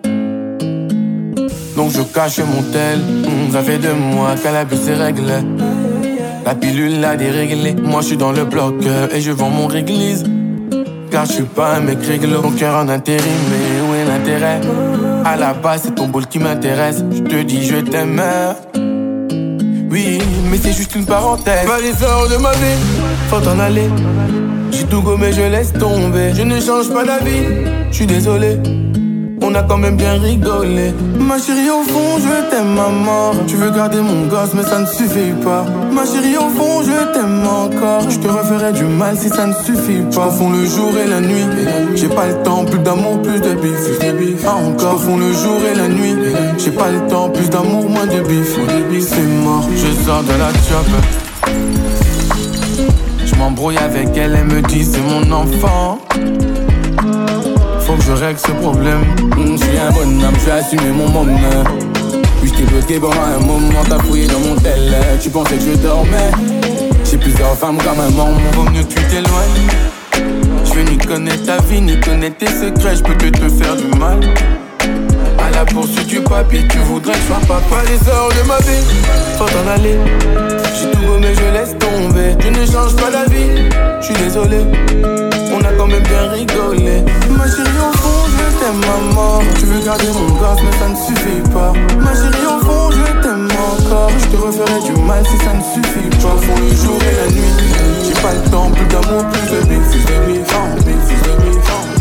Donc je cache mon tel. mmh, Ça fait deux mois qu'elle a bu ses règles. La pilule l'a déréglée. Moi je suis dans le bloc euh, et je vends mon réglisse. Car je suis pas un mec réglo. Mon cœur en intérim, mais où est l'intérêt? À la base c'est ton bol qui m'intéresse. Je te dis je t'aime. Oui, mais c'est juste une parenthèse. Pas les heures de ma vie, faut t'en aller. J'ai tout gommé, je laisse tomber. Je ne change pas d'avis, je suis désolé. On a quand même bien rigolé. Ma chérie au fond, je t'aime à mort. Tu veux garder mon gosse, mais ça ne suffit pas. Ma chérie au fond, je t'aime encore. Je te referai du mal si ça ne suffit pas. Je confonds le jour et la nuit. J'ai pas le temps, plus d'amour, plus de bif. Ah encore, je confonds le jour et la nuit. J'ai pas le temps, plus d'amour, moins de bif. C'est mort, je sors de la chop. Je m'embrouille avec elle, elle me dit c'est mon enfant. Faut que je règle ce problème. mmh, J'suis un bonhomme, j'vais assumer mon moment. Puis j't'ai bloqué pendant un moment, t'as fouillé dans mon tel. Tu pensais que je dormais. J'ai plusieurs femmes comme un membre. Vaut mieux que tu t'éloignes. Je veux ni connaître ta vie, ni connaître tes secrets. J'peux que te faire du mal. À la poursuite du papier, tu voudrais que je sois papa. Les heures de ma vie, faut t'en aller. J'ai tout gommé, je laisse tomber. Tu ne changes pas d'avis, je suis désolé. On a quand même bien rigolé. Ma chérie au fond, je t'aime à mort. Tu veux garder mon gosse, mais ça ne suffit pas. Ma chérie au fond, je t'aime encore. Je te referai du mal si ça ne suffit pas. Au fond, le jour et la nuit. J'ai pas le temps, plus d'amour, plus de bif. Plus de bif, oh, bif, plus de bif, oh.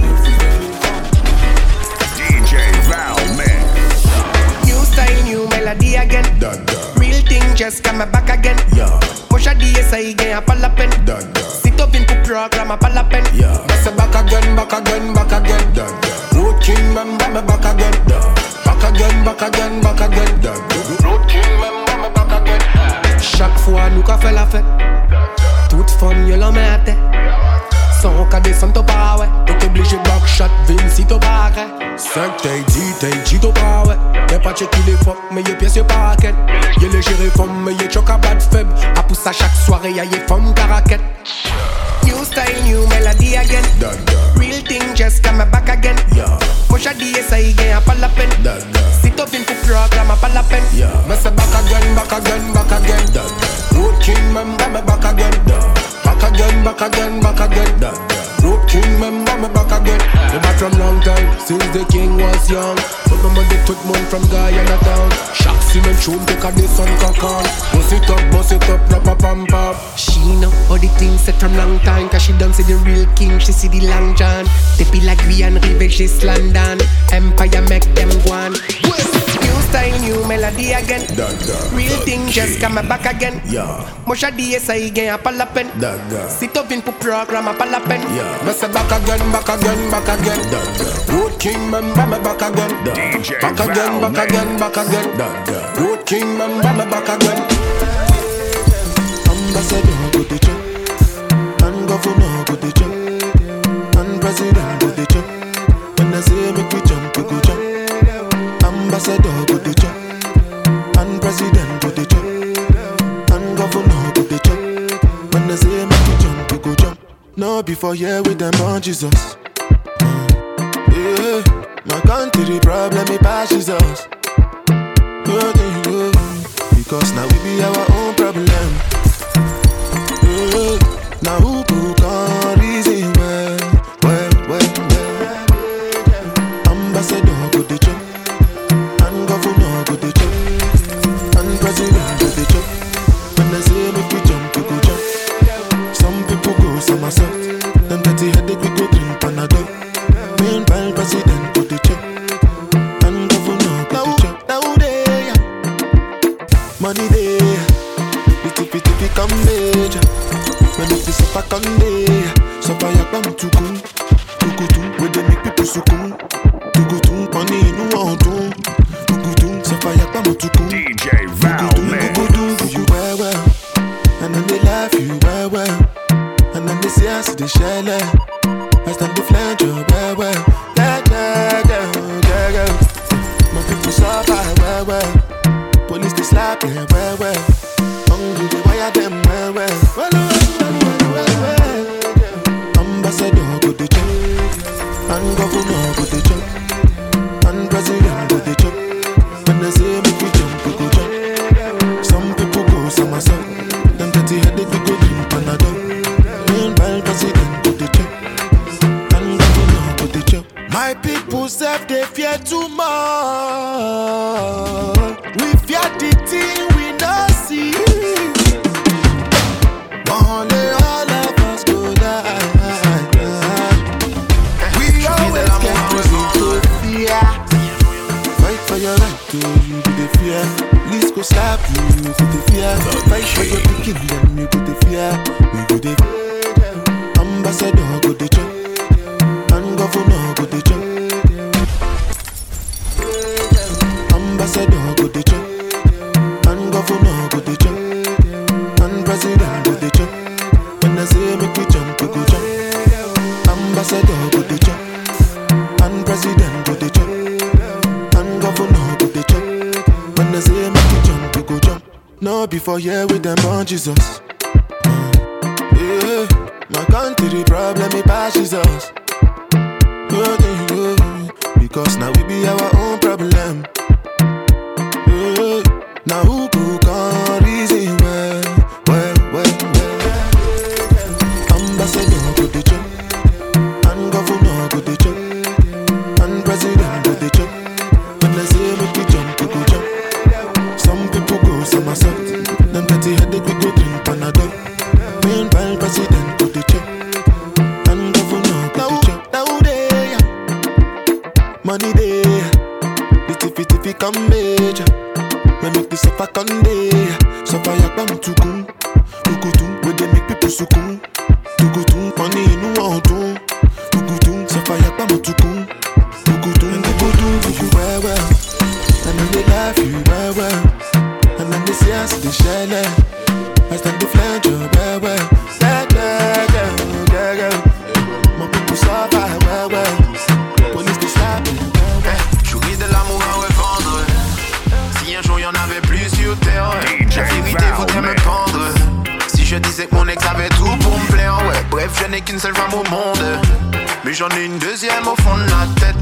D J Val Mix. New style, new melody again. Da, da. Real thing just come back again. Yeah. Push a D S I again, pas la peine. Da, da. Sit up in pour programme, pas la peine. Yeah. That's a back again, back again, back again. Da, da. Road king, member me back again. Da. Back again, back again, back again. Da, da. Road king, member me back again. Chaque fois nous qu'a fait la fête. Toute femme y'a la met à tête. Sans qu'à descendre au pas ouais. T'es obligé back shot, Vince si t'as pas arrêt. cinq t'es dit, t'es dit t'as pas ouais. Y'a pas checké les fuck, mais y'a pièce y'a pas raquette. Y'a les gérés femmes, mais y'a choc à bad faible. A pousse à chaque soirée, y'a y'a femmes caraquette. New style, new melody again. Da, da. Real thing just come back again. Yeah. Moi j'ai dit ça y gagne pas la peine. Da, da. Si t'as bien pour programme, pas la peine. Yeah. Mais c'est back again, back again, back again. Da, da. Road king, member me back again. Da. Back again, back again, back again. Da, da. Road king, member me back again. The back from long time, since the king was young. But no man did tout monde from Guyana town. Chaque semaine tune take a descend cocan. Bust it up, bust it up, rap a pam pam. She know all the things set from long time. Cause she done see the real king, she see the long john. Depuis la Guyane, rive just London. Empire make them go on. New style, new melody again. Da, da. Real thing just come back again. Yeah. Moi j'ai dit ça y gagne pas la peine. Da, da. Si t'as bien pour programme, pas la peine. Yeah. Mais c'est back again, back again, back again. Da, da. Road king, member me back again. Da. Back again, back again, back again. Da, da. Road king, member me back again. Ambassador go the check, and governor go the check, and president go the check. When I say make we jump, we go jump. Ambassador go the check, and president go the check, and governor go the check. When I say make we jump, we go jump. No before here with them on Jesus. Yeah, my country problem it passes us. Because now we be our own problem. Yeah, now who could come reason well, well, well, well. Ambassador go the check, and governor go the check, and president go the check. When I say make we jump, we go jump. Some people go somersault, them dirty headache we go drink Panadol. Meanwhile president go the check, and governor go the check. Now they money there, little bit if it come major. When it is up a Sunday, so far you come to come, to go to where they make people so come, to go to money no one do, to go to so far you come to come. D J Val Mix. Go do do you well well, and then they laugh you well well, and then they say I see the shell, as then they flange you well well, yeah yeah yeah yeah yeah. My people suffer well well, police they slap them well well, hungry they wire them well well, well well well well well. self they fear too much. We fear the thing we not see. One day all of us go die. We always get to fear. Fight for your right to you to the fear. Police go slap you to the fear. Fight for your picking them you go the fear. We go the fear. Ambassador go the chop. And governor go the chop. Ambassador go the chop. And governor go the chop. And president go the chop. When I say make we jump, we go jump. Ambassador go the chop. And president go the chop. And governor go the chop. When I say make we jump, we go jump. No before here with them on Jesus. Yeah, my country the problem it passes us. Because now we be our own problem. Yeah. Now who could come reason well, well, well, well. Ambassador go the chop. And governor go the chop. And president go the chop. When I say make we jump, we go jump. Some people go somersault. Them petty headache we go drink Panadol. Meanwhile president go the chop. And governor go the chop. Now they money there. The tiffy tiffy come major. Me make the suffer come there. Suffer yak bam tukun. Tukutum where they make people sukun. Tukutum money in one. Tukutum suffer yak bam tukun. Tukutum tukutum do you well well. And then they laugh you well well. And then they see us they share it. I stand the flange you well well. Yeah yeah yeah yeah yeah. My people suffer well well. Police they slap me. Jouis de l'amour à revendre. Si un jour y'en avait plus sur terre, la vérité voudrait me pendre. Si je disais que mon ex avait tout pour me plaire, ouais. Bref, je n'ai qu'une seule femme au monde. Mais j'en ai une deuxième au fond de la tête.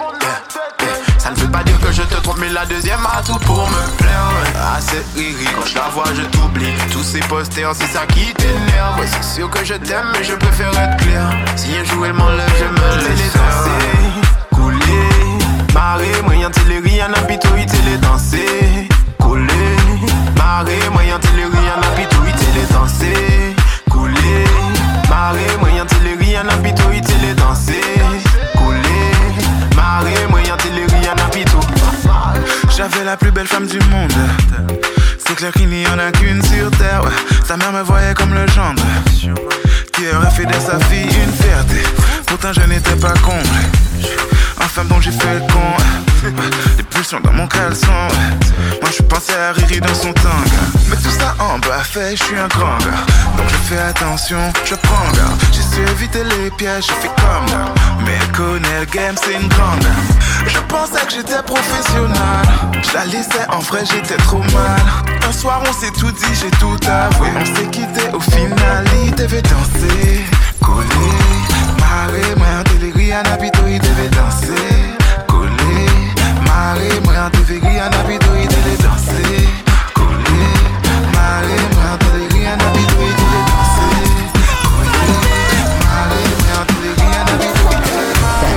Ça ne veut pas dire que je te trompe, mais la deuxième a tout pour me plaire. Ouais. Ah, c'est riri, quand je la vois, je t'oublie. Tous ces posters, c'est ça qui t'énerve. Ouais, c'est sûr que je t'aime, mais je préfère être clair. Si un jour elle m'enlève, je me laisse danser, couler. Marée, moyen téléri, y'en a pito, il télé danser, couler. Marée, moyen téléri, y'en a pito, il télé danser, couler. Marée, moyen téléri, y'en a pito, il télé danser, couler. Marée, moyen téléri, y'en a pito. J'avais la plus belle femme du monde. C'est clair qu'il n'y en a qu'une sur terre. Ouais. Sa mère me voyait comme le gendre qui aurait fait de sa fille une fierté. Pourtant je n'étais pas comblé. Enfin bon j'ai fait le con. Des pulsions dans mon caleçon. Moi je pensais à Riri dans son tanga. Mais tout ça en bas fait, je suis un grand gars. Donc je fais attention, je prends garde. J'ai su éviter les pièges, je fais comme là. Mais elle connaît le game, c'est une grande. Je pensais que j'étais professionnel. Je la laissais en vrai, j'étais trop mal. Un soir on s'est tout dit, j'ai tout avoué. On s'est quitté au final, il devait danser, coller. Marée, moi en téléri, un habito, il devait danser, coller. Marée, moi en téléri, un habito, il devait danser, coller. Marée, moi en téléri, un habito, il devait danser, coller. Marée, moi en téléri, un habito, il devait danser.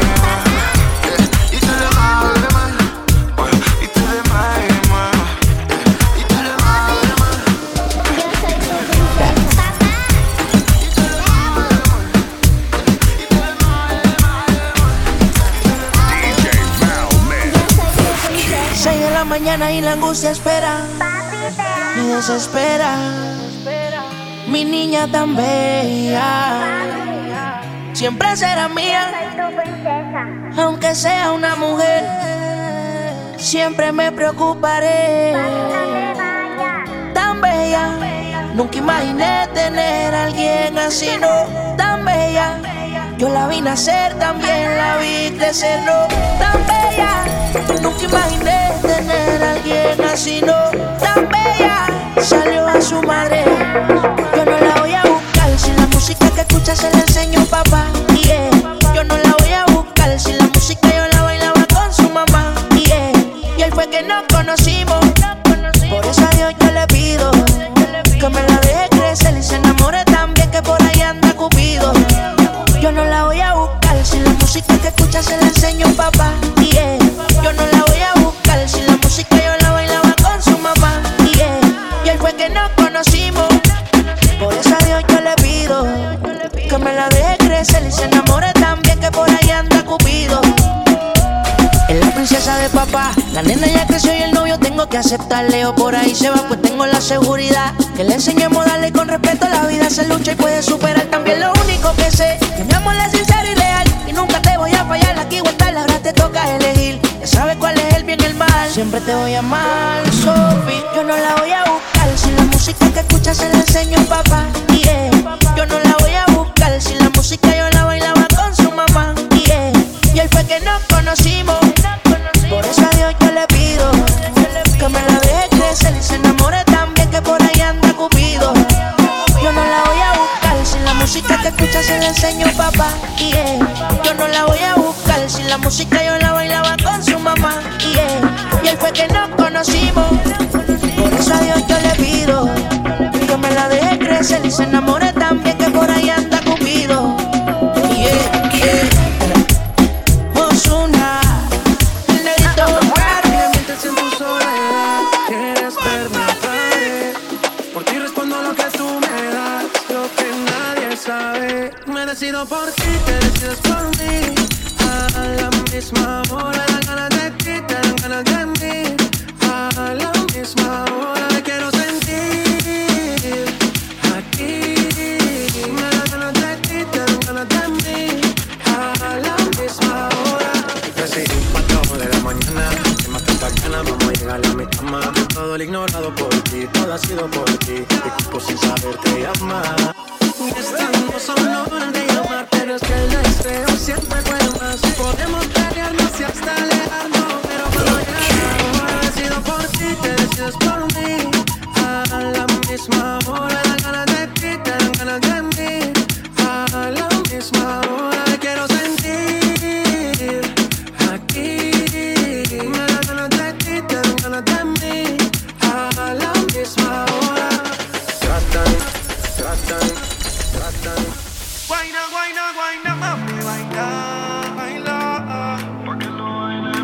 Il te le marre, le mal. Ouais, il te le marre, moi. Il te le marre, le mal. Seis de la mañana y la angustia espera, me desespera. Mi niña tan bella, siempre será mía, aunque sea una mujer. Siempre me preocuparé. Tan bella, nunca imaginé tener a alguien así, no. Tan bella, yo la vi nacer, también la vi crecer, no. Tan bella, nunca imaginé tener a alguien así, no. Tan bella, salió a su madre. Yo no la voy a buscar, si la música que escucha se la enseñó papá. Yeah. Yo no la voy a buscar, si la música yo la bailaba con su mamá. Yeah. Y él fue que nos conocimos. Por eso a Dios yo le pido que me la deje crecer y se enamore también, que por ahí anda Cupido. Yo no la voy a buscar, si la música que escucha se la enseñó papá. Yeah. pido que me la deje crecer y se enamore también, que por ahí anda Cupido. Es la princesa de papá, la nena ya creció y el novio tengo que aceptarle. O por ahí se va, pues tengo la seguridad que le enseñemos a darle con respeto a la vida. Se lucha y puede superar también. Lo único que sé, que mi amor es sincero y real, y nunca te voy a fallar. Aquí o estar, ahora te toca elegir. Ya sabes cuál es el bien y el mal, siempre te voy a amar, Sophie. Yo no la voy a buscar, si la música que escuchas se la enseño a papá, yeah. Yo no la voy a buscar, si la música yo la bailaba con su mamá, yeah. Y él fue que nos conocimos, por eso a Dios yo le pido que me la deje crecer y se enamore también, que por ahí anda Cupido. Yo no la voy a buscar, si la música que escucha se la enseño papá, yeah. Yo no la voy a buscar, si la música yo la bailaba con su mamá, yeah. Y él fue que nos conocimos, por eso a Dios yo le pido que me la deje crecer y se enamore también, que por ahí anda Cupido, yeah, yeah. Me decido por ti, te decides por mí. A la misma hora, dan ganas de ti, te dan ganas de mí. A la misma hora, te quiero sentir aquí. Me dan ganas de ti, te dan ganas de mí. A la misma hora. Decidí cuatro de la mañana, que más tantas ganas, vamos a llegar a mi cama. Todo el ignorado por ti, todo ha sido por ti. Mi cuerpo sin saber te llama. Estamos solo de llamar, pero es que el deseo siempre puede más. Podemos pelearnos y hasta alejarnos, pero cuando llega la hora decido por ti, te decides por mí. A la misma hora, dan ganas de ti, te dan ganas de mí. A la misma hora, te quiero sentir aquí. Me dan ganas de ti, te dan ganas de mí. A la misma hora. Tratan, tratan. Guayna, guayna, guayna, mami, baila, baila. Pa' que lo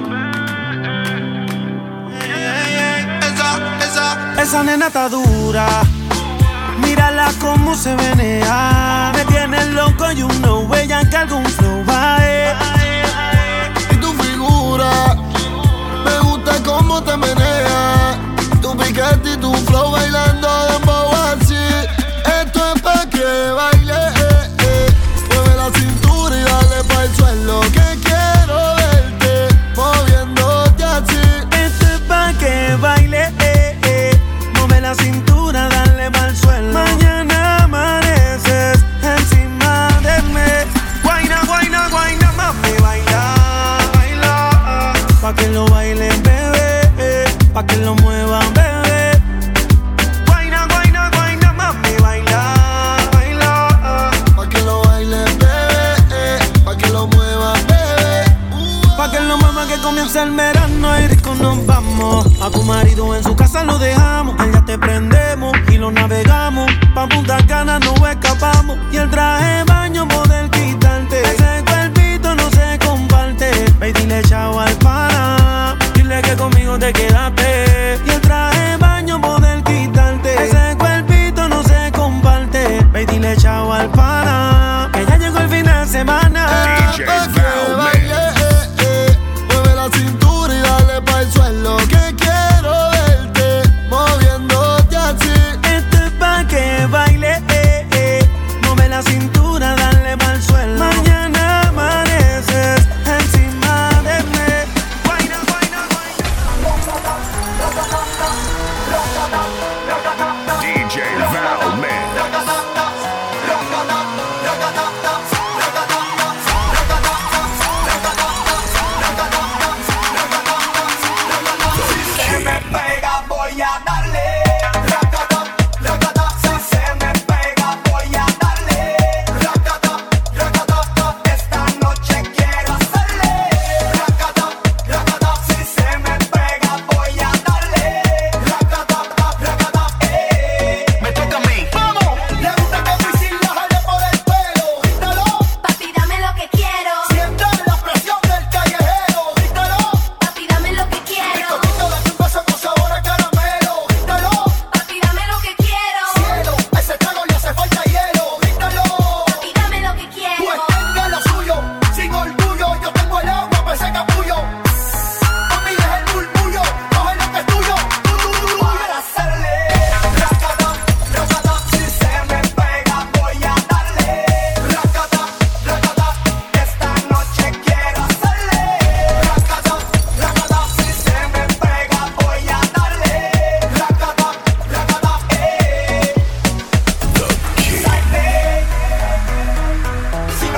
baile, esa, esa, esa nena está dura. Mírala cómo se menea. Me tiene loco y uno huella que algún flow va. Y tu figura, me gusta cómo te menea. Tu piquete y tu flow bailando de dembow así. Esto es pa' que baile, eh, eh. Mueve la cintura y dale pa'l suelo, que quiero verte moviéndote así. Esto es pa' que baile, eh, eh. Mueve la cintura, dale pa'l suelo. Mañana amaneces encima de mí. Guayna, guayna, guayna, mami, baila, baila. Pa' que lo bailen, bebé, eh. Pa' que lo muevan, bebé. Comienza el verano y rico nos vamos. A tu marido en su casa lo dejamos. Allá te prendemos y lo navegamos. Pa' Punta Cana no escapamos. Y el traje de baño poder quitarte. Ese cuerpito no se comparte. Ve y dile chao al pana. Dile que conmigo te quedaste. Y el traje de baño poder quitarte. Ese cuerpito no se comparte. Ve y dile chao al pana. Que ya llegó el fin de semana. D J Valme. Cintura y dale pa'l suelo, que quiero verte moviéndote así. Esto es pa' que baile, eh, eh. Mueve la cintura, dale pa'l suelo. Mañana amaneces encima de mí. Guayna, guayna, guayna. D J Valme.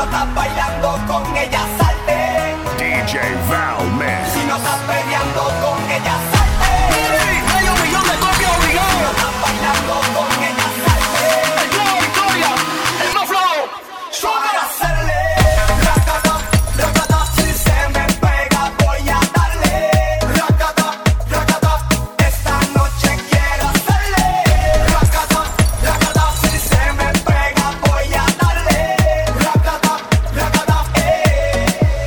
estás bailando con ella, salte. D J Valman. Si no estás peleando con ella, salte. Hey, yo, millón de copias obligado. Si no estás bailando con ella, salte. El flow, Victoria, el no flow. Suave a hacerle. Racata, racata, si se me pega voy a darle. Racata, racata, esta noche quiero hacerle. Racata, racata, si se me pega voy a darle. Racata, racata, eh.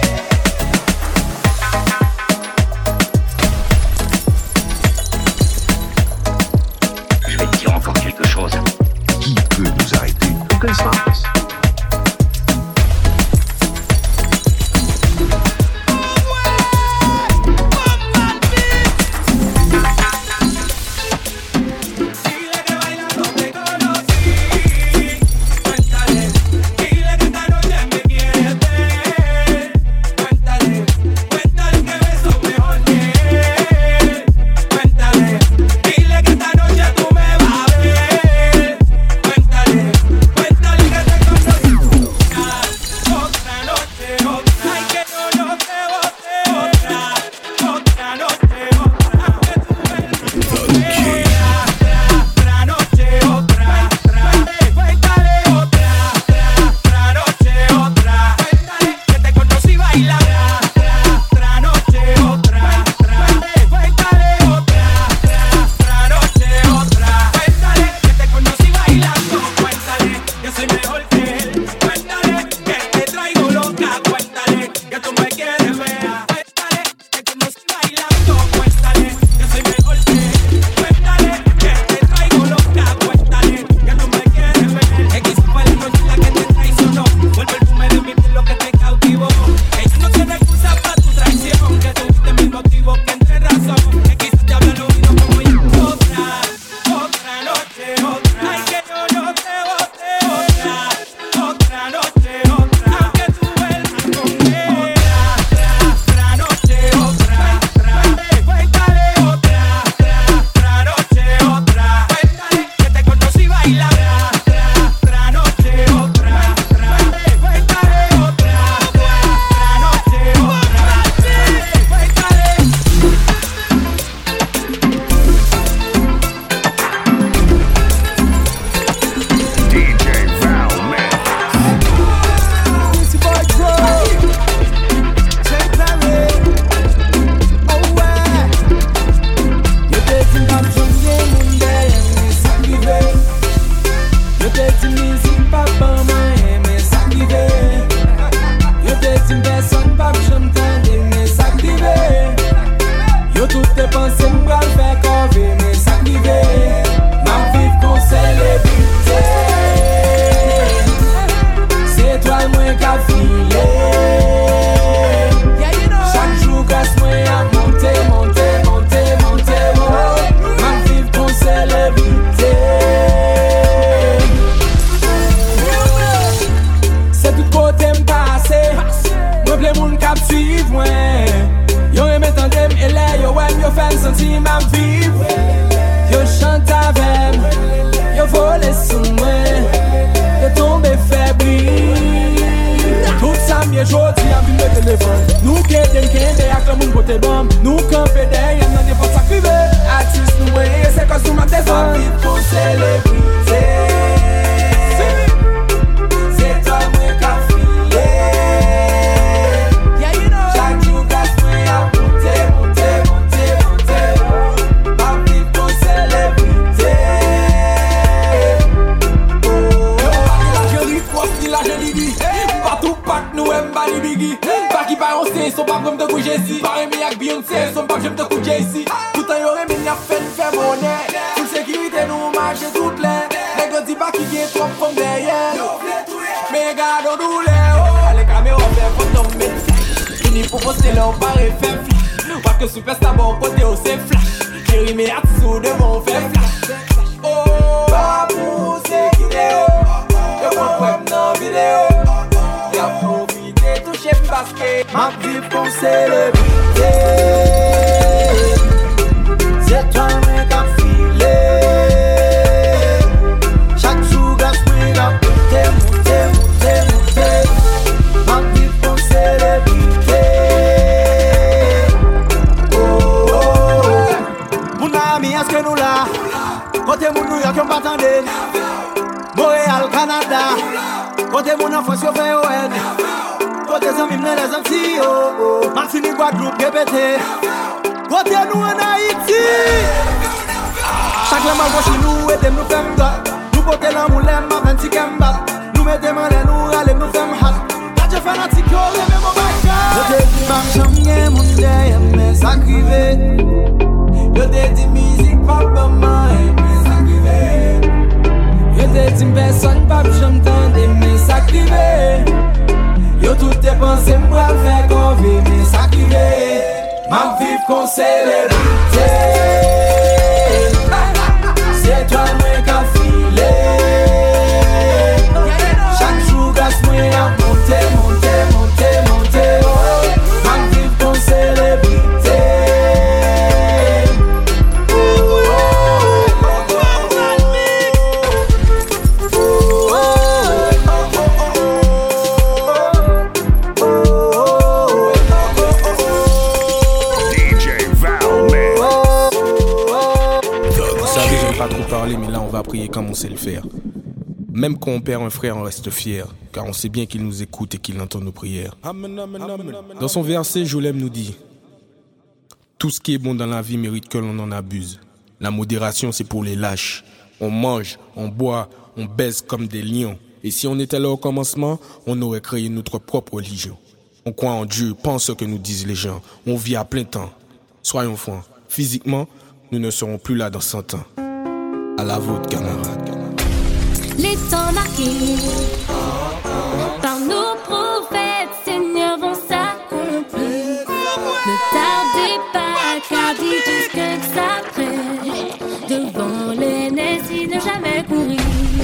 Je vais te dire encore quelque chose. Qui peut nous arrêter? Aucun sens. Ma vie pour célébrer. C'est toi mais qu'à filer. Chaque jour, gaz, mais qu'à monter, monter, monter, monter. Côté mon enfance, yo fait ouais. Côté amis, me les Antilles, oh. Martini, Guadeloupe, G P T. Côté nous en Haïti. Chaque lama chez nous, et nous faisons gars. Nous portons l'amour, l'aime, ma vingt-six kemba. Nous mettons mal et nous râlons, nous faisons hat. Là, je fais notre tico, et même mon bac. Je te dis, ma chambre, mon derrière, mais ça crive. Je te dis, musique, papa, ma mais ça crive. Je te dis, personne, papa, j'entends, mais ça crive. Yo tout tes pensées, moi, faire qu'on vit, mais ça crive. Ma vie, qu'on célébrité. C'est toi moi qui filé. Chaque jour grâce moi à monter, monter, monter, monter. Oh, ma vie pour célébrité. D J Valmix. Vous savez, j'aime pas trop parler, mais là on va prier comme on sait le faire. Même quand on perd un frère, on reste fier, car on sait bien qu'il nous écoute et qu'il entend nos prières. Dans son verset, Jolem nous dit: tout ce qui est bon dans la vie mérite que l'on en abuse. La modération, c'est pour les lâches. On mange, on boit, on baise comme des lions. Et si on était là au commencement, on aurait créé notre propre religion. On croit en Dieu, pense ce que nous disent les gens. On vit à plein temps. Soyons francs, physiquement, nous ne serons plus là dans cent ans. À la vôtre, camarades. Les temps marqués par nos prophètes, Seigneur, vont s'accomplir. Ne tardez pas, car dit tout ce que ça prête. Devant l'ennemi, ne jamais courir.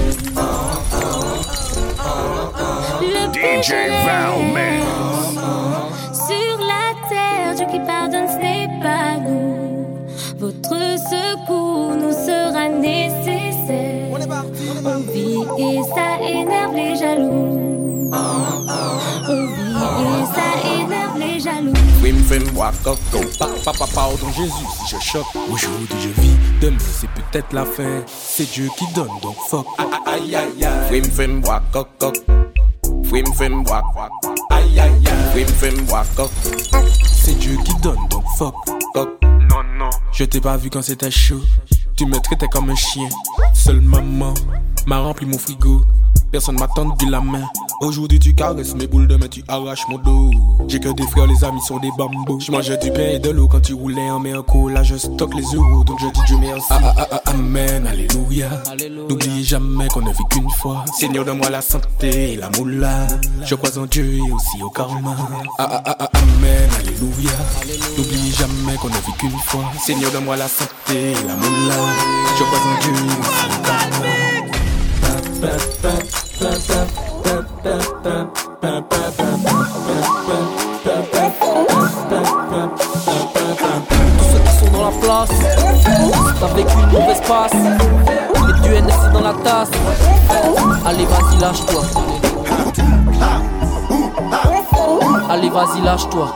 Le D J Valmix. sur la terre, Dieu qui pardonne, ce n'est pas nous. Votre secours nous sera nécessaire. On vit et ça énerve les jaloux. On vit et ça énerve les jaloux. Oui, me fais moi coco. Papa, pardon Jésus si je choque. Aujourd'hui je vis, demain c'est peut-être la fin. C'est Dieu qui donne donc fuck. Aïe aïe aïe. Oui, me fais moi coco. Oui, me fais moi. Aïe aïe aïe. Oui, me fais moi coco. C'est Dieu qui donne donc fuck. Non non. Je t'ai pas vu quand c'était chaud. Tu me traitais comme un chien. Seule maman m'a rempli mon frigo. Personne m'a tendu la main. Aujourd'hui tu caresses mes boules, demain tu arraches mon dos. J'ai que des frères, les amis sont des bambous. Je mangeais du pain et de l'eau quand tu roulais en mer. Là je stocke les euros, donc je dis Dieu merci. Ah, ah, ah, ah, amen, alléluia. N'oubliez jamais qu'on ne vit qu'une fois. Seigneur, donne-moi la santé et la moula. Je crois en Dieu et aussi au karma. Ah, ah, ah, ah, amen, alléluia. N'oubliez jamais qu'on ne vit qu'une fois. Seigneur, donne-moi la santé et la moula. Je crois en Dieu et aussi au karma. Tous ceux qui sont dans la place, c'est avec une mauvaise passe. Et du N F C dans la tasse. Allez vas-y lâche-toi. Allez vas-y lâche-toi.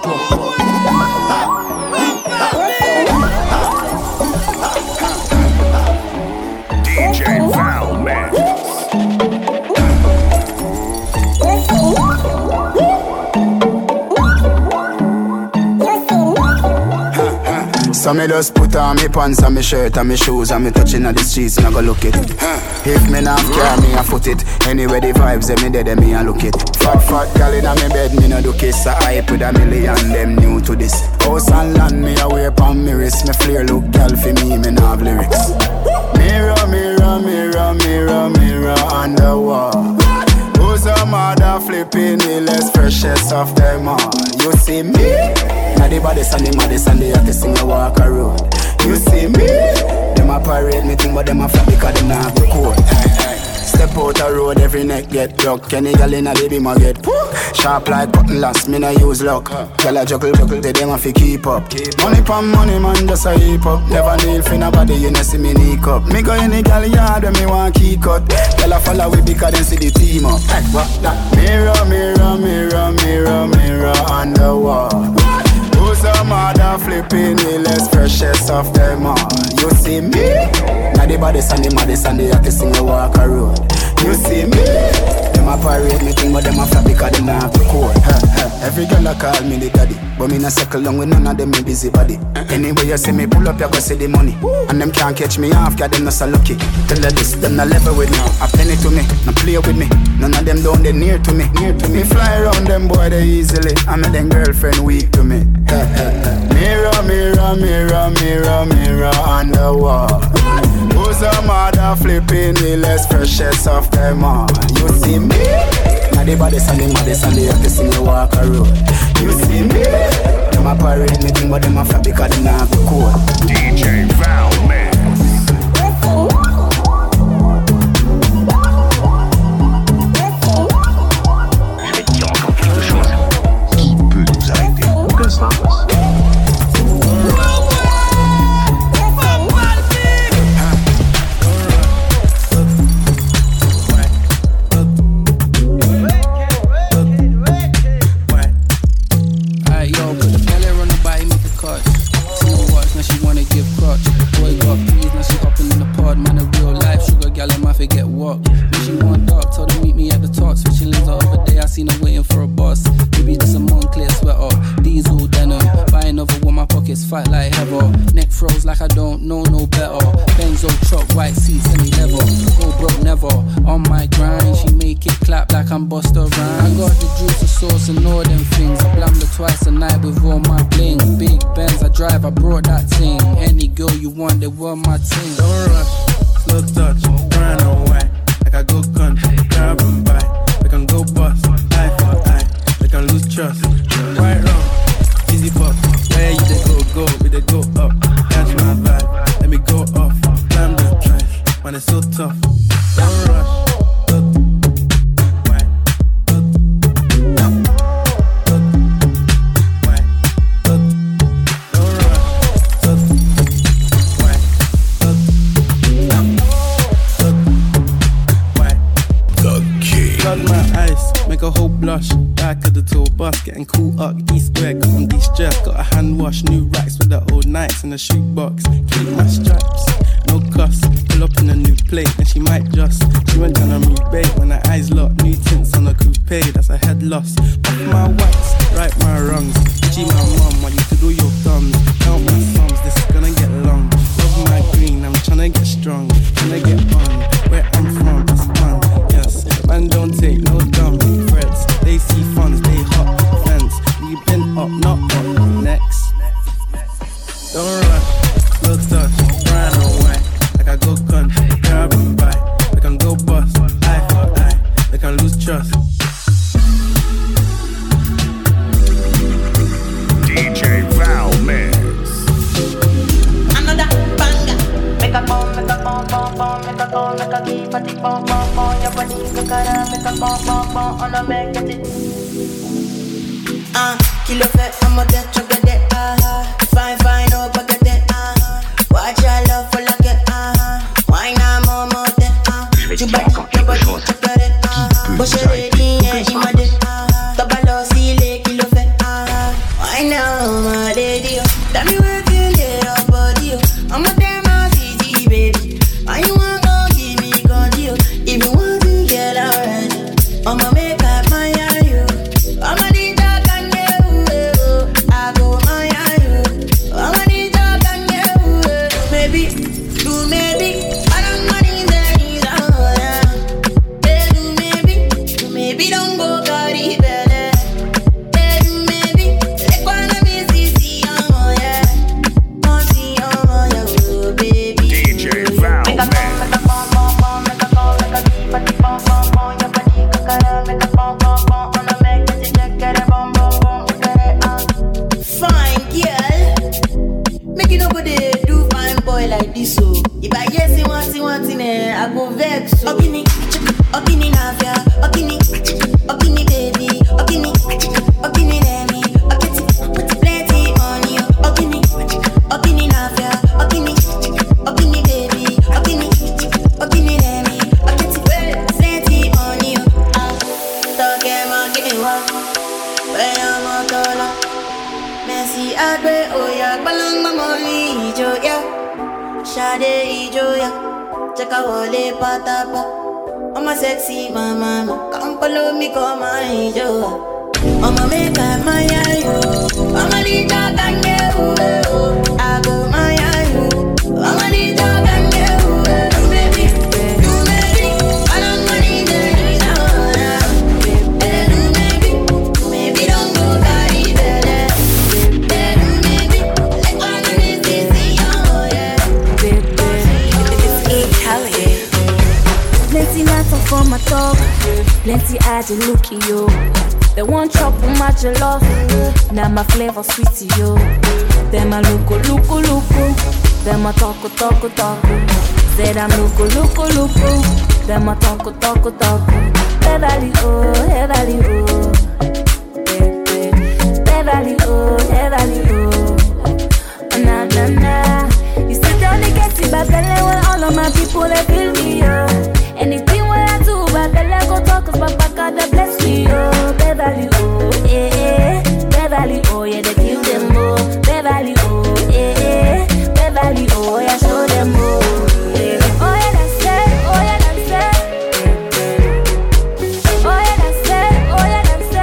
D J Valmix. So me just put on me pants and me shirt and me shoes and me touching on the streets and I go look it. If me not care, me a foot it. Anyway the vibes them me dead and me a look it. Fat fat gal inna me bed, me no do kiss. I hype with a million, them new to this. House and land me a wear pon me wrist. Me flare look gal for me, me no have lyrics. Mirror, mirror, mirror, mirror, mirror on the wall. Who's a mother flipping the less freshest of them all? You see me? Now the baddest and the maddest and the hottest in the walk around. You see me? Them a parade me thing but them a flap because them not go cold. Step out the road, every neck get broke. Kenny gal inna the beam a get pook. Sharp like cotton last, me no use luck. Gal a juggle juggle, they them a fi keep up. Money pon money man, just a heap up. Never kneel for nobody, you know see me sneak up. Me go in the gal yard when me want key cut. Gal a follow we because them see the team up. Hey, what that? Mirror, mirror, mirror, mirror, mirror on the wall. Who's a mother flipping the less freshest of them all? You see me? Now the baddest and the maddest and the hottest in the walk around. You see me? Them a parade me thing, but them a flap because them not have the code. Every girl a call me the daddy, but me not circle long with none of them me busy body. Anyway you see me pull up, you go see the money. And them can't catch me off, cause them not so lucky. Tell her this, them not level with me. A penny to me, not play with me. None of them down they near to me, near to me. Fly around them boy they easily. I make them girlfriend weak to me. Mirror, mirror, mirror, mirror, mirror on the wall. Who's a mother flipping the less freshest of them all? You see me? Now the body and the maddest and the hottest in the walk a road. You see me? Them a parade me thing, but them a flap because them not have the code. D J Val Mix. Je vais te dire encore quelque chose. Qui peut nous arrêter? Aucun sens. Fight like heather, neck froze like I don't know no better. Benzo truck, white seats, any level. Go broke never. On my grind, she make it clap like I'm Busta Rhymes. I got the juice, the sauce, and all them things. I blammed her twice a night with all my bling. Big Benz I drive, I brought that thing. Any girl you want, they were my team. Don't rush, slow touch, run away. Like I go country, grab and buy. We can go bust, eye for eye. We can lose trust, right wrong, easy fuck. Where you they go, go, we they go up. Catch my vibe, let me go off. Climb the drive, man it's so tough. Don't rush, look, why, look, look, look, why, look, don't rush, look, why, look, look, look, why. The King. Flood my eyes, make a whole blush. Back of the tour bus, getting cool up. East square, got on de-stress. Got a hand wash, new racks with the old nights in the shoebox. Keep my stripes, no cuss. Pull up in a new plate, and she might just. She went down on rebate when her eyes locked. New tints on a coupe, that's a head loss. Off my whites, right my wrongs. G my mum, want you to do your thumbs. Count my sums, this is gonna get long. Love my green, I'm tryna get strong. Tryna get on, where I'm from, it's fun. Yes, man don't take no dumb threats. They see funds, they hot fence. We been up, not up. Next, don't rush, slow touch, run away. Like I go country, grab and buy. We can go bust, eye for eye. We can lose trust. D J Val Mix. Another banger. Make a bomb, make a bomb, bomb, bomb, make a bomb, make a keep a tick bomb, bomb, bomb. Your body go cara, make a bomb, bomb, bomb. On a make it. Ah, kilo fait, I'm a dead chocolate. Ah, fine, fine, no baguette. Ah, watch your love for like it. Ah, why not more, more than ah. Je vais te dire encore quelque chose. Qui peut nous arrêter? Aucun sens. Tabalo, si les kilo fait. Ah, why now, my lady? Tell me where you lay your body. I'm a damn easy, baby. Why you want to give me condio? If you want to get alright, I'ma make up my you. I'ma need that can you. I go my you. I'ma need that can you. Maybe, do maybe. I don't want in the knees. Hey, do maybe, do maybe don't go carry better. Hey, do maybe, let go and be see oh yeah, oh see oh yeah, baby. D J Val Make a Mix. make a bomb, bomb, bomb, make a bomb, make a keep a tick bomb, bomb, bomb. Your body go cara, make a bomb, bomb, bomb. On a make it check, get a bomb, bomb, bomb, get it on. Fine girl, make it nobody do fine boy like this so. If I hear say one thing, one thing, eh, I go vex so. Okini, okini navia, okini, okini baby, okini, okini lemi, okiti, put plenty money, okini, okini navia, okini, okini baby, okini, okini lemi, okiti, plenty money, ah, talk em okini wa, when I'm on tola, Messi adwe oya, balang mamoli ijo ya, shade ijo ya, chaka wole patapa. I'm a sexy mama, come follow me come and yo. I'ma make I my you. I'ma need your gang you. I go my you. I'ma need your gang you. You baby, you baby. I don't money there now. Baby, maybe, maybe don't go carry belly. Baby, maybe like one of these easy oh yeah. Baby, it's E. Kelly. Plenty matter for my talk. Plenty I just look at you. They want chop on my jollof. Now my flavor sweet to you. Them a looko looko looko. Them a talko talko talko. Said I'm looko looko looko. Them a talko talko talko. Beverly oh, Beverly oh. Beverly oh, Beverly oh. Na na na. You sit down and get it back and when all of my people they feel me oh. Anything what I do, but the Lego talk is Papa God that bless me, oh. Beverly, oh, eh, eh. Beverly, oh, yeah, they kill them, oh. Beverly, oh, eh, eh. Beverly, oh, yeah, show them, oh. Eh. Oh, yeah, that's it, oh, yeah, that's it. Oh, yeah, that's it, oh, yeah, that's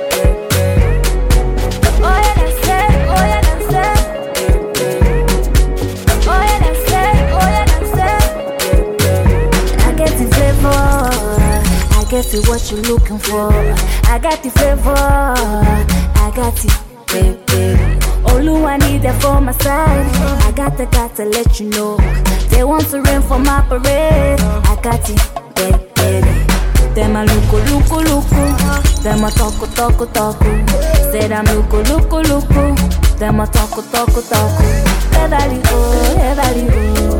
it. Oh, yeah, that's it, oh, yeah, that's it. Oh, yeah, that's it, oh, yeah, that's it. I get the flavor, I get it what you're looking for. I got the flavor, I got it, baby. All I need it for my side. I got the got to let you know. They want to rain for my parade. I got it, baby. Them a looko looko looko. Them a talko talko talko. Said I'm looko looko looko. Them a talko talko talko. Beverly oh, Beverly oh.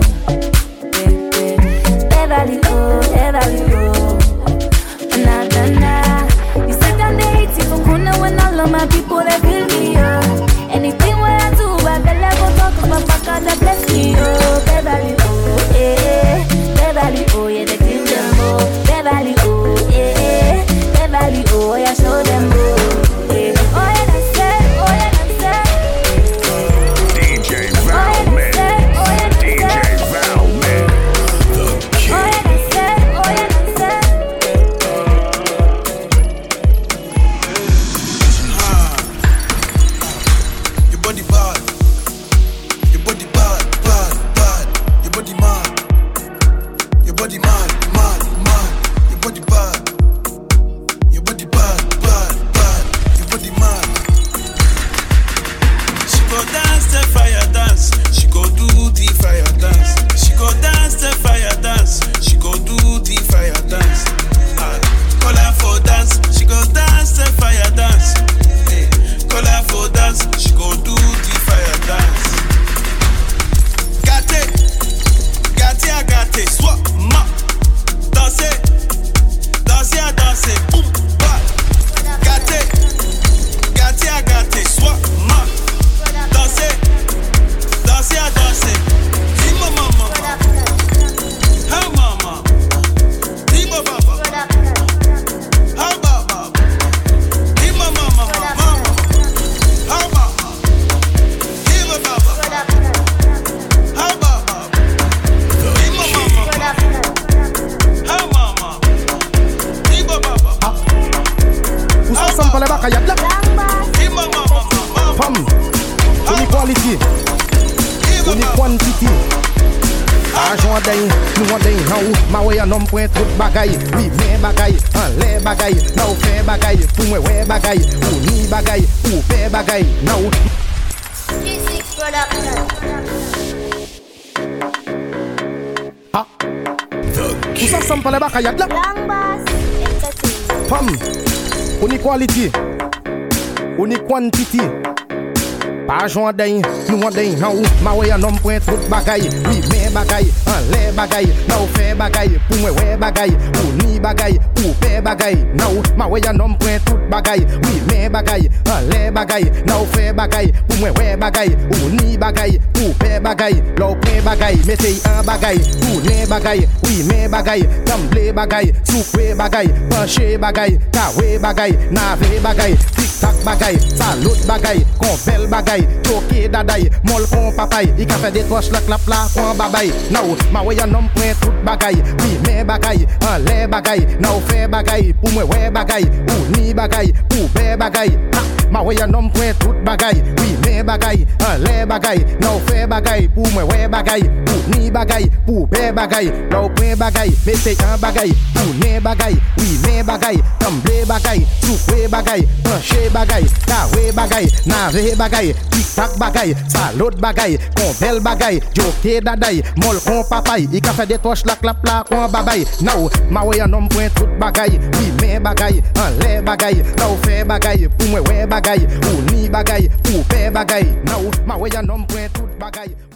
Beverly oh, Beverly oh. Na na na. You sit down there hate even kuna when all of my people they feel me oh. Anything what I do, I can never talk about my God that bless me oh. Beverly oh, eh. Beverly oh, yeah they kill them oh. Beverly oh, eh. Beverly oh, yeah show them oh. Eh. Oh yeah that's it, oh yeah that's it. D J Valman, D J Valman, the king. Oh yeah that's it, oh yeah that's it. Your body bad, your body bad, bad, bad. Your body mad, your body mad, mad, mad. Your body bad, your body bad, bad, bad. Your body mad. She go dance the fire dance, she go do the fire dance. She go dance the fire dance, she go do the fire dance. Ah, call her for dance, she go dance the fire dance. Hey, call her for dance, she go do the fire dance. Got it, got it, I got it. Swap, ma, danse, danse, I dance, boom, ba. Got it, got it, I got it. Swap, ma, danse, danse, I dance. Hey mama, hey mama, hey baba, hey baba, hey mama, mama, mama, hey mama, hey baba, hey baba, hey mama, hey mama, hey baba. Où ça ressemble pas les bacs à y'a de la Femme, inequality, inequality. Argent en dain, nous en dain en haut. Ma way un homme point trop de bagaille. Oui, mais bagaille, en les bagaille. Now fait bagaille, pour moi ouais bagaille. Ou ni bagaille, ou fait bagaille. Now. Ah. Où ça ressemble pas les bacs à y'a de la Femme, inequality, inequality. Argent en dain, nous en dain en haut. Ma way un homme point trop de bagaille. Oui, mais bagaille, en les bagaille. Now fait bagaille, pour moi ouais bagaille. Ou ni bagaille, ou fait bagaille. Now, ma way un homme point trop de bagaille. Oui, mais bagaille, en les bagaille. Now fait bagaille, pour moi ouais bagaille. Ou ni bagaille, ou fait bagaille. L'eau prend bagaille, mettez un bagaille. Ou les bagaille, oui, mais bagaille. Gamble bagaille, soupe bagaille. Penché bagaille, kawé bagaille. Navé bagaille, tic tac bagaille. Salut bagaille, confel bagaille. bagay, choke daday, mol kon papay, i ka fait des toches la clap la kon babay. Now, ma way un homme point tout bagay, oui mais bagay, en les bagay, now fait bagay, pour moi ouais bagay, ou ni bagay, pour bé bagay. Ma way un homme point tout bagay, oui mais bagay, en les bagay, now fait bagay, pour moi ouais bagay, ou ni bagay, pour bé bagay, now point bagay, mettez un bagay, pour né bagay, oui mais bagay, tamblé bagay, soufflé bagay, penché bagay, carré bagay, navé bagay, tic-tac bagay, salot bagay, compel bagay, joke daday, mol kon papay, i ka fait des toches la clap la kon babay. Now, ma way un homme point tout bagay, oui mais bagay, en les bagay, now fait bagay, pour moi ouais bagay, ou ni bagay, pour pay bagay. Now, ma way un homme point tout bagay.